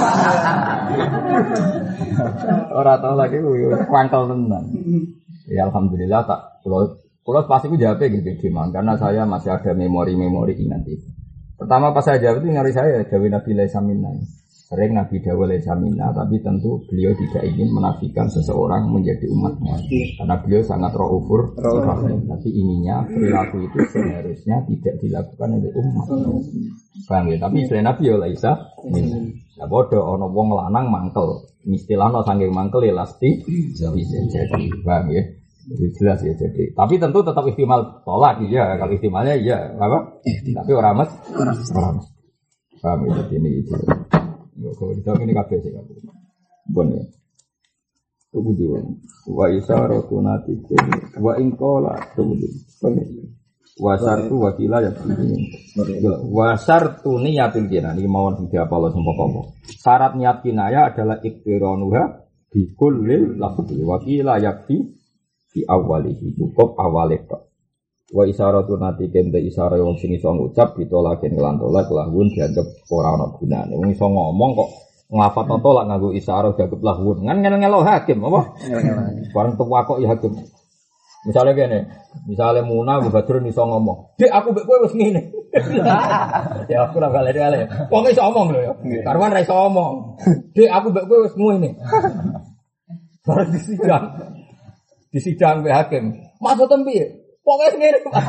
Ora tolak iku kwangkel tenan. Ya alhamdulillah tak kula pasti ku jawab gitu karena saya masih ada memori-memori ingat itu. Pertama pas saya jawab itu ngari saya Dawi Nabi laisa minna. Sering Nabi Dawa laisa minna, tapi tentu beliau tidak ingin menafikan seseorang menjadi umatnya. Karena beliau sangat raufur rahim. Tapi inginnya perilaku itu seharusnya tidak dilakukan oleh umat. Paham ya? Tapi selain Nabi ya laisa minna. Ya bodoh ana wong lanang mangkel. Istilahnya saking mangkel ya lasti bisa jadi. Paham ya? Itu jelas ya jadi. Tapi tentu tetap ihtimal tolak ya. Kalau ihtimalnya ya apa? Tapi orang mas. Paham ya? Ini itu. Kalau kita ini kafe sih kafe. Bon ya. Tunggu dulu. Wa isaratu natike. Wa ingkola. Tunggu dulu. Wasartu wakila ya. Wasartu niyatil kina. Ini mau nanti apa lo sempoh. Syarat niat kinaya adalah iktiranuha bikullil lafzi. Wakila yakfi di awalihi. Cukup awalnya. Wa isaratu natike ente isara yang sing iso ngucap ditolaken kelan tolak lahun dianggap ora ana gunane. Wong iso ngomong kok ngafat tolak nganggo isara dianggap lahun. Kan ngelo hakim apa? Bareng tuwa kok ya hakim. Misalnya gini, misalnya Muna Badrun iso ngomong, "Dek aku mbek kowe wis ngene." Ya aku ora balik-balik. Wong iso ngomong lho ya. Karwan ra iso ngomong. "Dek aku mbek kowe wis ngene." Bareng disidang mbek hakim. Maksudem piye? Pokoknya ngene Pak.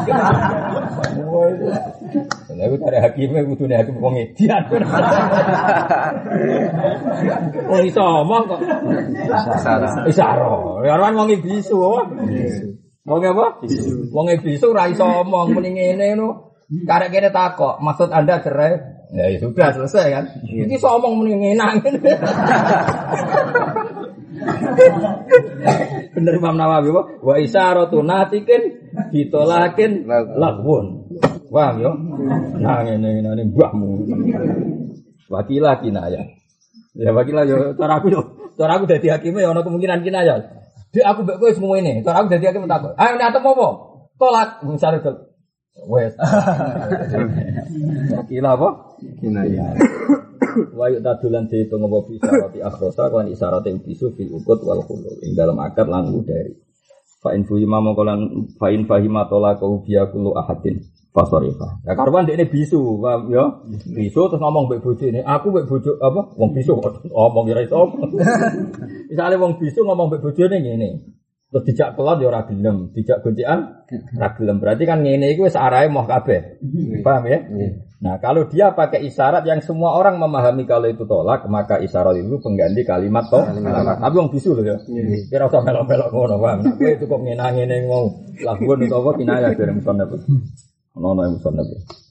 Lah iku cari hakime kudune hakim wong edian. Oh iso omong kok. Isara. Ya ora wong bisu. Wong apa? Wong bisu ora iso omong muni ngene ngono. Karek kene takok, maksud Anda cerai? Ya sudah selesai kan. Iki iso omong muni ngenang. Bener Imam Nawawi wa isaratu natikin ditolakin lahwun. Paham yo? Nah ngene mbahmu. Wakila kinaya. Ya wakila yo cara aku yo cara aku dadi hakim ya ana kemungkinan kinayah. Dek aku mbek kowe semua ini. Cara aku dadi hakim takut. Ayo nek atem apa? Tolak misale wes. Kila apa? Kinayah. Wa yu'tadulan dihitung apa bisa roti akhrosa kan isyarat yang bisu fil ukut wal khulul ing dalam akad lan dari fa in fahima mongkolan fa in fahima talaqu biya kullu ahadin fasarifa. Ya karuan dekne bisu, paham ya? Bisu terus ngomong mbek bojone, aku mbek bojo apa? Wong bisu ngomong ora iso. Misale wong bisu ngomong mbek bojone ngene. Terus dijak kelot ya ora gelem, dijak gocekan ora gelem. Berarti kan ngene iku wis arahe moh kabeh. Paham ya? Nah, kalau dia pakai isyarat yang semua orang memahami kalau itu tolak, maka isyarat itu pengganti kalimat tolak. Tapi wong bisu lho ya. Kira usah melok-melok ngono, paham. Nah, kowe cukup ngene-ngene mau lakukan utawa kinayah dari musannaf. Ono yang musannaf.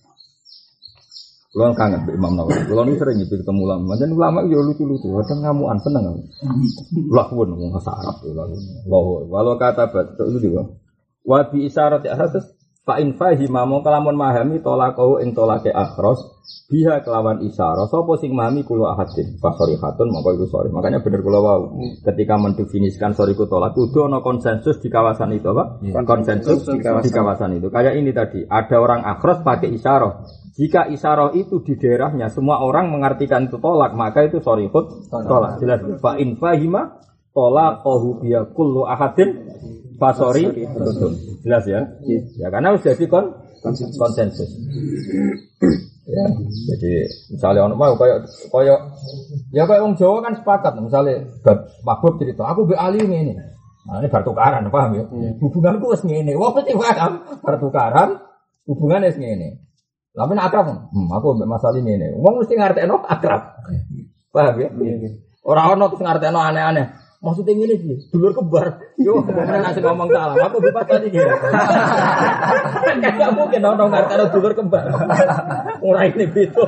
Kulo kangen Mbak Imam Nawawi. Kulo nu sering nyebut ketemu ulama. Manjen ulama yo lucu-lucu, kadang ngamukan seneng. Lakukan wong bahasa Arab yo lakukan. Walau kata batuk itu juga. Wa bi isyarat akhras fa in fahima mong kalamun mahami tolaqau ing tolake akhras biha kelawan isyarah sapa sing mahami kulo ahadin fasarihatun mongko iku sori. Makanya bener kula wau ketika mendefinisikan soriku tolak kudu ana konsensus di kawasan itu apa? Konsensus di kawasan itu. Kayak ini tadi, ada orang akhras pakai isyarah. Jika isyarah itu di daerahnya semua orang mengartikan itu tolak, maka itu sorihut tolak. Jelas. Fa in fahima tolaqahu biha kullu ahadin fasori betul. Jelas ya? Ya karena sudah jadi konsensus. Ya, jadi misalnya orang mau kayak orang Jawa kan sepakat, misalnya Mahbub cerita, aku be ali ini. Nah, ini bertukaran, paham ya? Hubunganku wis ngene. Wong mesti paham, bertukaran hubungannya wis ngene. Tapi nek akrab, aku mbek masalah ngene. Wong mesti ngartekno akrab. Paham ya? Ora ono terus ngartekno aneh-aneh. Maksudnya ngene iki, dulur kembar. Yo, beneran asik ngomong salah. Aku bebas tadi iki. Enggak mungkin ono ngartekno dulur kembar. Ora ini gitu.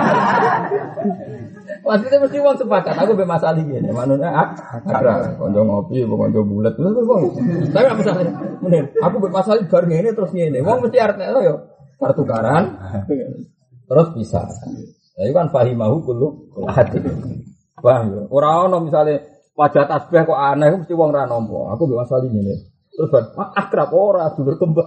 Maksudnya mesti wong sepakat. Aku mbek masalah ngene. Manune akrab. Konco ngopi, konco bulet. Tapi apa salahnya? Bener. Aku mbek masalah bar ngene terus ngene. Wong mesti artine yo pertukaran terus bisa. Lah kan fahimahu kullu hati. Paham ya? Ora ono misale wajah tasbih kok aneh mesti wong ra nampa. Aku mbek masalah ngene. Terus akrab ora dulur kembar.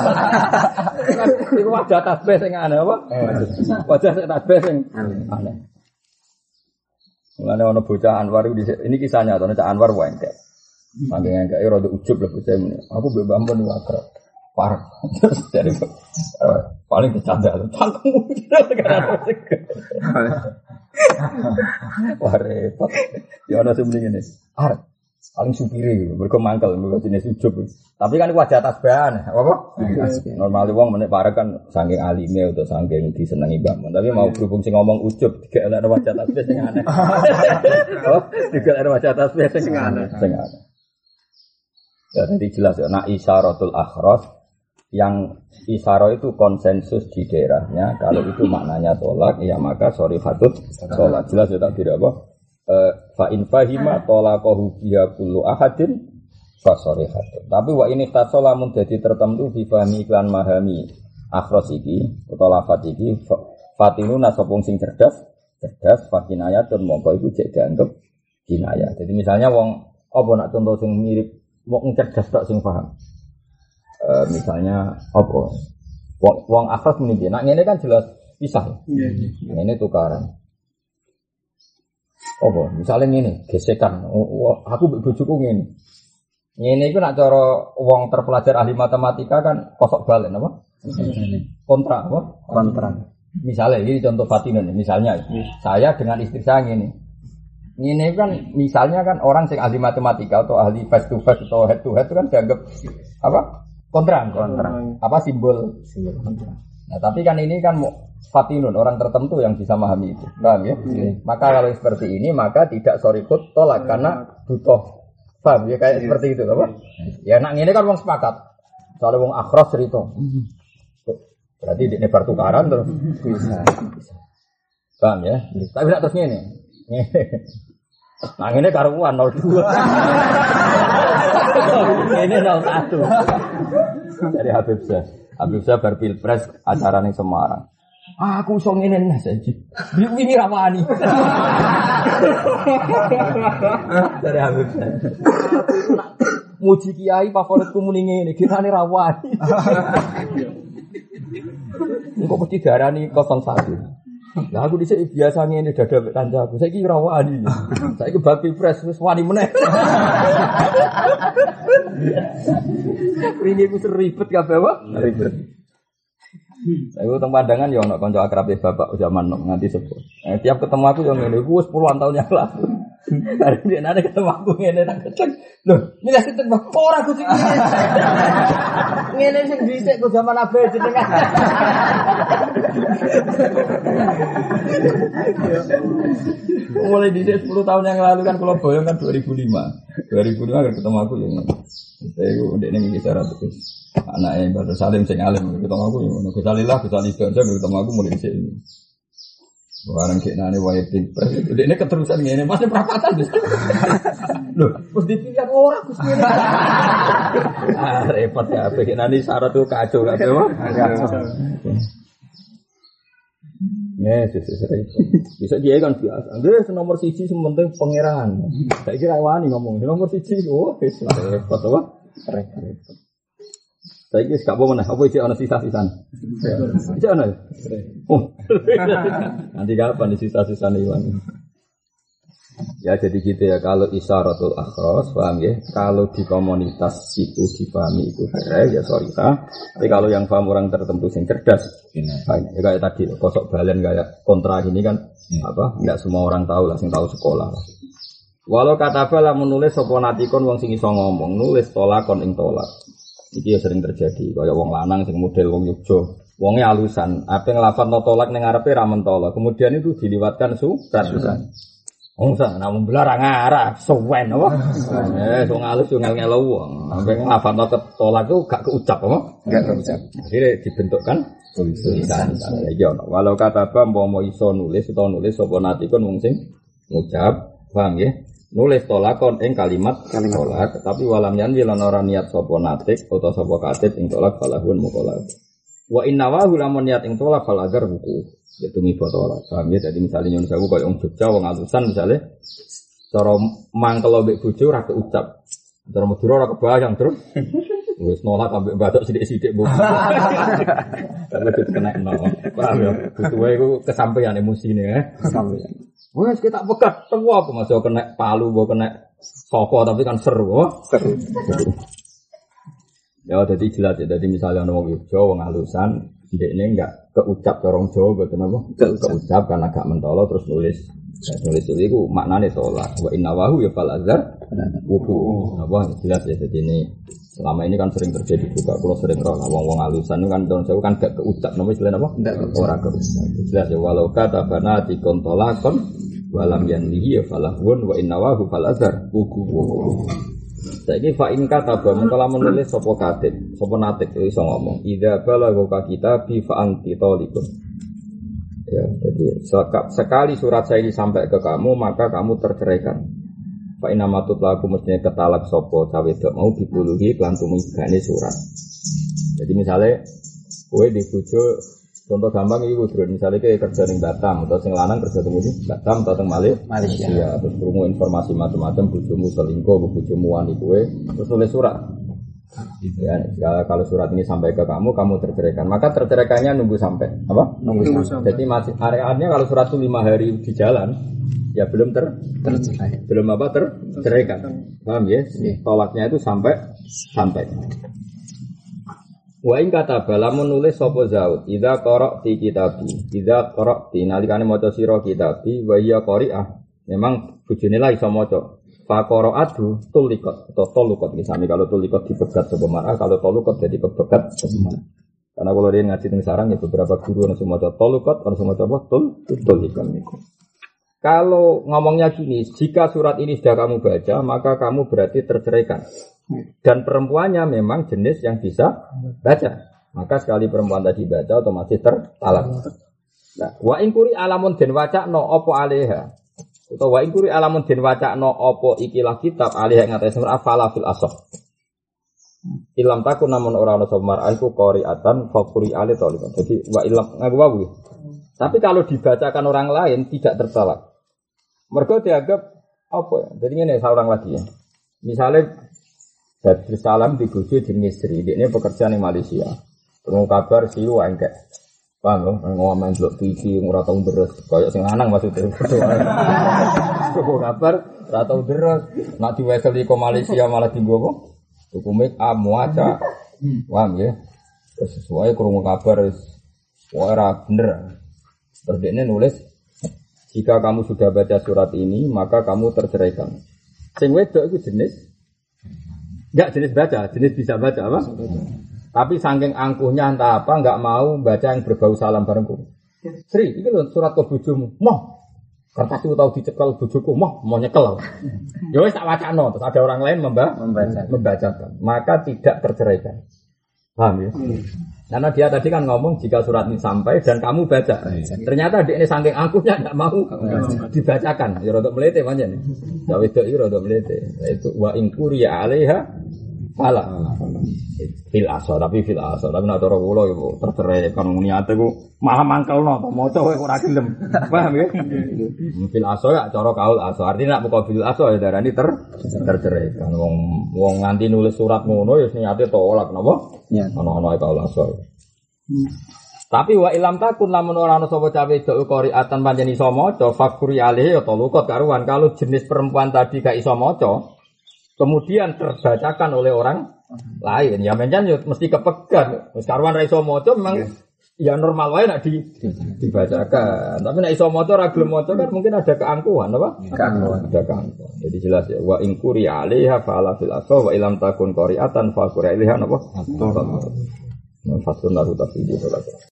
Iku wajah tasbih sing aneh apa? Wajah sing tasbih sing aneh. Mulane ana bocah Anwar ini kisahnya to Cak Anwar wae enggak. Saking enggak rada ujub lho bocah ini. Aku mbek Bambon iku akrab. Parah. Dari paling bercanda tuh. Cangkemmu sekarang. Wah repot. Ya ana sing mending ngene. Paling supire gitu. Mergo mangkel mergo jenis ujub. Tapi kan wajah tasbihan, apa? Normal wong menek parek kan saking alime utawa saking disenengi Mbak. Tapi mau berhubung sing ngomong ujub digelekno wajah tasbih sing aneh. Oh, digelekno wajah tasbih sing aneh. Ya tadi jelas ya, nak isyaratul akhras yang isyarah itu konsensus di daerahnya. Kalau itu maknanya tolak, ya maka sorihatut tolak. Jelas ya tak kira apa? Fa in fahima tolaqahu biya kullu ahadin fa sorihatut. Tapi wa ini tasola mun dadi tertentu bi fahmi iklan mahami akhras iki utawa lafaz iki fatinuna sapa sing cerdas fakinayatun mongko iku jek dianggep kinayah. Jadi misalnya wong apa nak contoh sing mirip wong cerdas tok sing paham. Misalnya apa? Wong akhras muni piye? Nak ngene kan jelas pisah. Ngene tukaran. Apa? Misalnya ngene, gesekan. Aku mbek bojoku ngene. Ngene iku nak cara wong terpelajar ahli matematika kan kosok balen apa? Kontra apa? Kontra. Misalnya ini contoh Fatinun, misalnya saya dengan istri saya ngene. Ngene kan misalnya kan orang sing ahli matematika atau ahli face to face atau head to head itu kan dianggap apa? Kontra. Apa simbol kontra. Nah, tapi kan ini kan Fatinun, orang tertentu yang bisa memahami itu. Paham ya? Maka kalau seperti ini maka tidak sorikut tolak karena butuh. Paham ya kayak seperti itu apa? Ya nak ngene kan wong sepakat. Soale wong akhras cerita. Berarti ini pertukaran terus bisa. Paham ya? Tapi tidak terus ngene. Nah ini karuan 02. Ini 01. Dari Habib Syah berpilpres acara ning Semarang. Aku iso ngene Mas iki. Wingi ra wani. Dari Habib. Muji kiai favoritku muni ngene, kirane ra wani. Engko mesti diarani 01. Lah aku dhisik biasa ngene dadak kancaku. Saiki ora wani. Saiki bab Pilpres wis wani meneh. Wingi ku ribet kabeh wae. Ribet. Saya teng pandangan ya ana kanca akrabe bapak zaman nganti sepuh. Tiap ketemu aku yang ngene iku wis puluhan tahun yang lalu. Hari ini ada ketemu aku ngene tak kecek. Loh, milih sing ora kucing ngene. Ngene sing dhisik ku zaman abe jenengan. Mulai dhisik 10 tahun yang lalu kan kula boyong kan 2005. 2005 kan ketemu aku yang ngene. Saya ndekne iki cara terus. Anaknya Mbak Salim sing alim ketemu aku ngono Gusalillah Gusalida aja ketemu aku mulai dhisik ini. Barang kene wae Pilpres. Dekne keterusan ngene Mas perapatan. Lho, wis dipilih ora Gus ngene. Repot ya kene syarat tuh kacau kabeh wae. Yes. Bisa dia kan biasa. Nggih nomor 1 sing penting pangeran. Saiki ra wani ngomong nomor 1. Oh, wis repot wae. Repot. Saya kira gak apa-apa, apa isi ada sisa-sisan? Isi ada? Oh, nanti kapan di sisa-sisan ini? Ya jadi gitu ya, kalau isyaratul akhros, paham ya? Kalau di komunitas itu dipahami itu ya sorry tapi kalau yang paham orang tertentu yang cerdas, ya kayak tadi, kosok balen kayak kontra ini kan, nggak semua orang tahu lah, yang tahu sekolah. Walau kata bala menulis soponatikon wong sing iso ngomong, nulis tolakon ing tolak. Iki ya sering terjadi, kaya wong lanang sing model wong Yogyo, wonge alusan, ape nglafadzno tolak ning ngarepe ra mentolo, kemudian itu diliwatkan surat. Wong sak namun belar ra ngarah, suwen apa? Wong alus yo ngel-ngelo wong, sampe nglafadzno tolak itu gak keucap apa? Gak keucap. Akhire dibentukkan tulisan. Iki ono, walau kata apa mau iso nulis utawa nulis sapa natikon wong sing ngucap, paham ya? Nulis tolakon ing kalimat tolak, tapi walam yanwi lan ora niat sapa natik utawa sapa katib ing tolak falahun muqallab. Wa inna wa lamun niat ing tolak fal agar buku. Itu mibo tolak. Paham ya? Jadi misalnya nyun sewu koyo wong Jogja wong alusan misale cara mangkel mbek bojo ora keucap. Cara Madura ora kebayang terus. Wis nolak ambek batok sithik-sithik bu. Karena itu kena nol. Paham ya? Butuhe iku kesampaian emosine ya. Kesampaian. Wes kita pegat semua aku masih kena palu, mau kena sopo tapi kan seru, seru. Ya jadi jelas ya. Jadi misalnya orang Yogyo, orang halusan, ini enggak keucap orang Jawa, betul apa? Keucap karena agak mentolo terus nulis. Nulis itu maknanya tolak. Wa inna wahu ya fal azhar wuku. Apa jelas ya. Jadi ini selama ini kan sering terjadi juga. Kalau sering roh wong halusan itu kan tahun kan gak keucap. Namanya selain apa? Orang keucap. Jelas ya. Walau kata bana tikon tolakon walam yanlihi ya falahun wa inna wahu fal azhar wuku. Saiki fa in kataba mengkala menulis sapa katib, sapa natik iso ngomong. Idza balagha kita bi fa anti talikun. Ya, jadi sekali surat saya ini sampai ke kamu, maka kamu terceraikan. Fa inna matut laku mestinya ketalak sapa cawe dok mau dipuluhi kelantung gane surat. Jadi misalnya kowe di bojo contoh gampang iki Bro, misalnya kayak kerja ning Batam atau sing lanang kerja temu di Batam atau teng Malaysia. Ya, terus krungu informasi macam-macam bojomu selingkuh, bojomu wani kowe, terus nulis surat. Ya, kalau surat ini sampai ke kamu terceraikan. Maka terceraikannya nunggu sampai apa? Nunggu sampai. Jadi masih areanya kalau surat itu 5 hari di jalan, ya belum tercerai. Belum terceraikan. Paham ya? Tolaknya itu sampai. Wa in kataba lamun nulis sapa zaud idza qara'ti kitabi idza qara'ti nalikane maca sira kitabi wa ya qari'ah memang bojone lah iso maca fa qara'atu tuliqat atau toluqat misale kalau tuliqat dipegat sapa mar'ah kalau toluqat jadi kepegat sapa mar'ah karena kalau dia ngaji teng sarang ya beberapa guru ana sing maca toluqat ana sing maca tuliqat niku. Kalau ngomongnya gini, jika surat ini sudah kamu baca, maka kamu berarti terceraikan. Dan perempuannya memang jenis yang bisa baca. Maka sekali perempuan tadi baca, otomatis tertalak. Nah, wa ingkuri alamun den wacakno opo aleha. Atau wa ingkuri alamun den wacakno opo ikilah kitab aleha ngatai semar afala fil asoh. Ilam takun namun ora ana sapa mar'ah iku qari'atan faquri ali tolikan. Jadi wa ilam ngaku wawu. Tapi kalau dibacakan orang lain tidak tertalak. Mergo dianggap apa ya? Jadi ngene seorang lagi ya. Misalnya Badrus Salam di bojo jenenge Sri, ini pekerjaan di Malaysia. Tunggu kabar siu engke. Paham lho, ngomong ndelok TV ora tau deres, koyo sing lanang maksudnya. Tunggu kabar ora tau deres, nak diweseli ke Malaysia malah dienggo apa? Hukumnya muaca. Paham ya? Sesuai krungu kabar wis ora bener. Terus dia nulis, jika kamu sudah baca surat ini, maka kamu terceraikan. Sing wedok itu jenis, enggak jenis baca, jenis bisa baca apa? Tapi saking angkuhnya entah apa, enggak mau baca yang berbau salam barengku. Sri, ini loh surat ke bojomu, moh. Kertas itu tahu dicekel bojoku, mau nyekel. Ya wis tak wacana, terus ada orang lain membacakan. Maka tidak terceraikan. Paham ya? Karena dia tadi kan ngomong jika surat ini sampai dan kamu baca. Ternyata dia ini saking angkuhnya tidak mau dibacakan. Ya rodok melete pancen. Ya wedok iki rodok melete. Itu wa in quriya 'alaiha fala. Fil asar tapi nek cara kula ya tercerai kan niate ku malah mangkelno to maca kowe ora gelem. Paham ya? Fil asar ya cara kaul asar. Artinya nek muka fil asar ya darani tercerai. Kan wong nganti nulis surat ngono ya niate tolak napa? Ana-ana kaul asar. Tapi wa ilam takun lamun ora ana sapa cawe wedok qari'atan pancen iso maca fakuri alih ya talukot karuan kalau jenis perempuan tadi gak iso maca kemudian terbacakan oleh orang lain ya mencen yo mesti kepegat wis karuan ra iso maca memang ya normal wae nek dibacakan tapi nek iso maca ra gelem maca kan mungkin ada keangkuhan apa ada keangkuhan jadi jelas ya wa in quri alaiha fala fil aswa wa ilam takun qari'atan fa quri alaiha napa fasun naru tafsir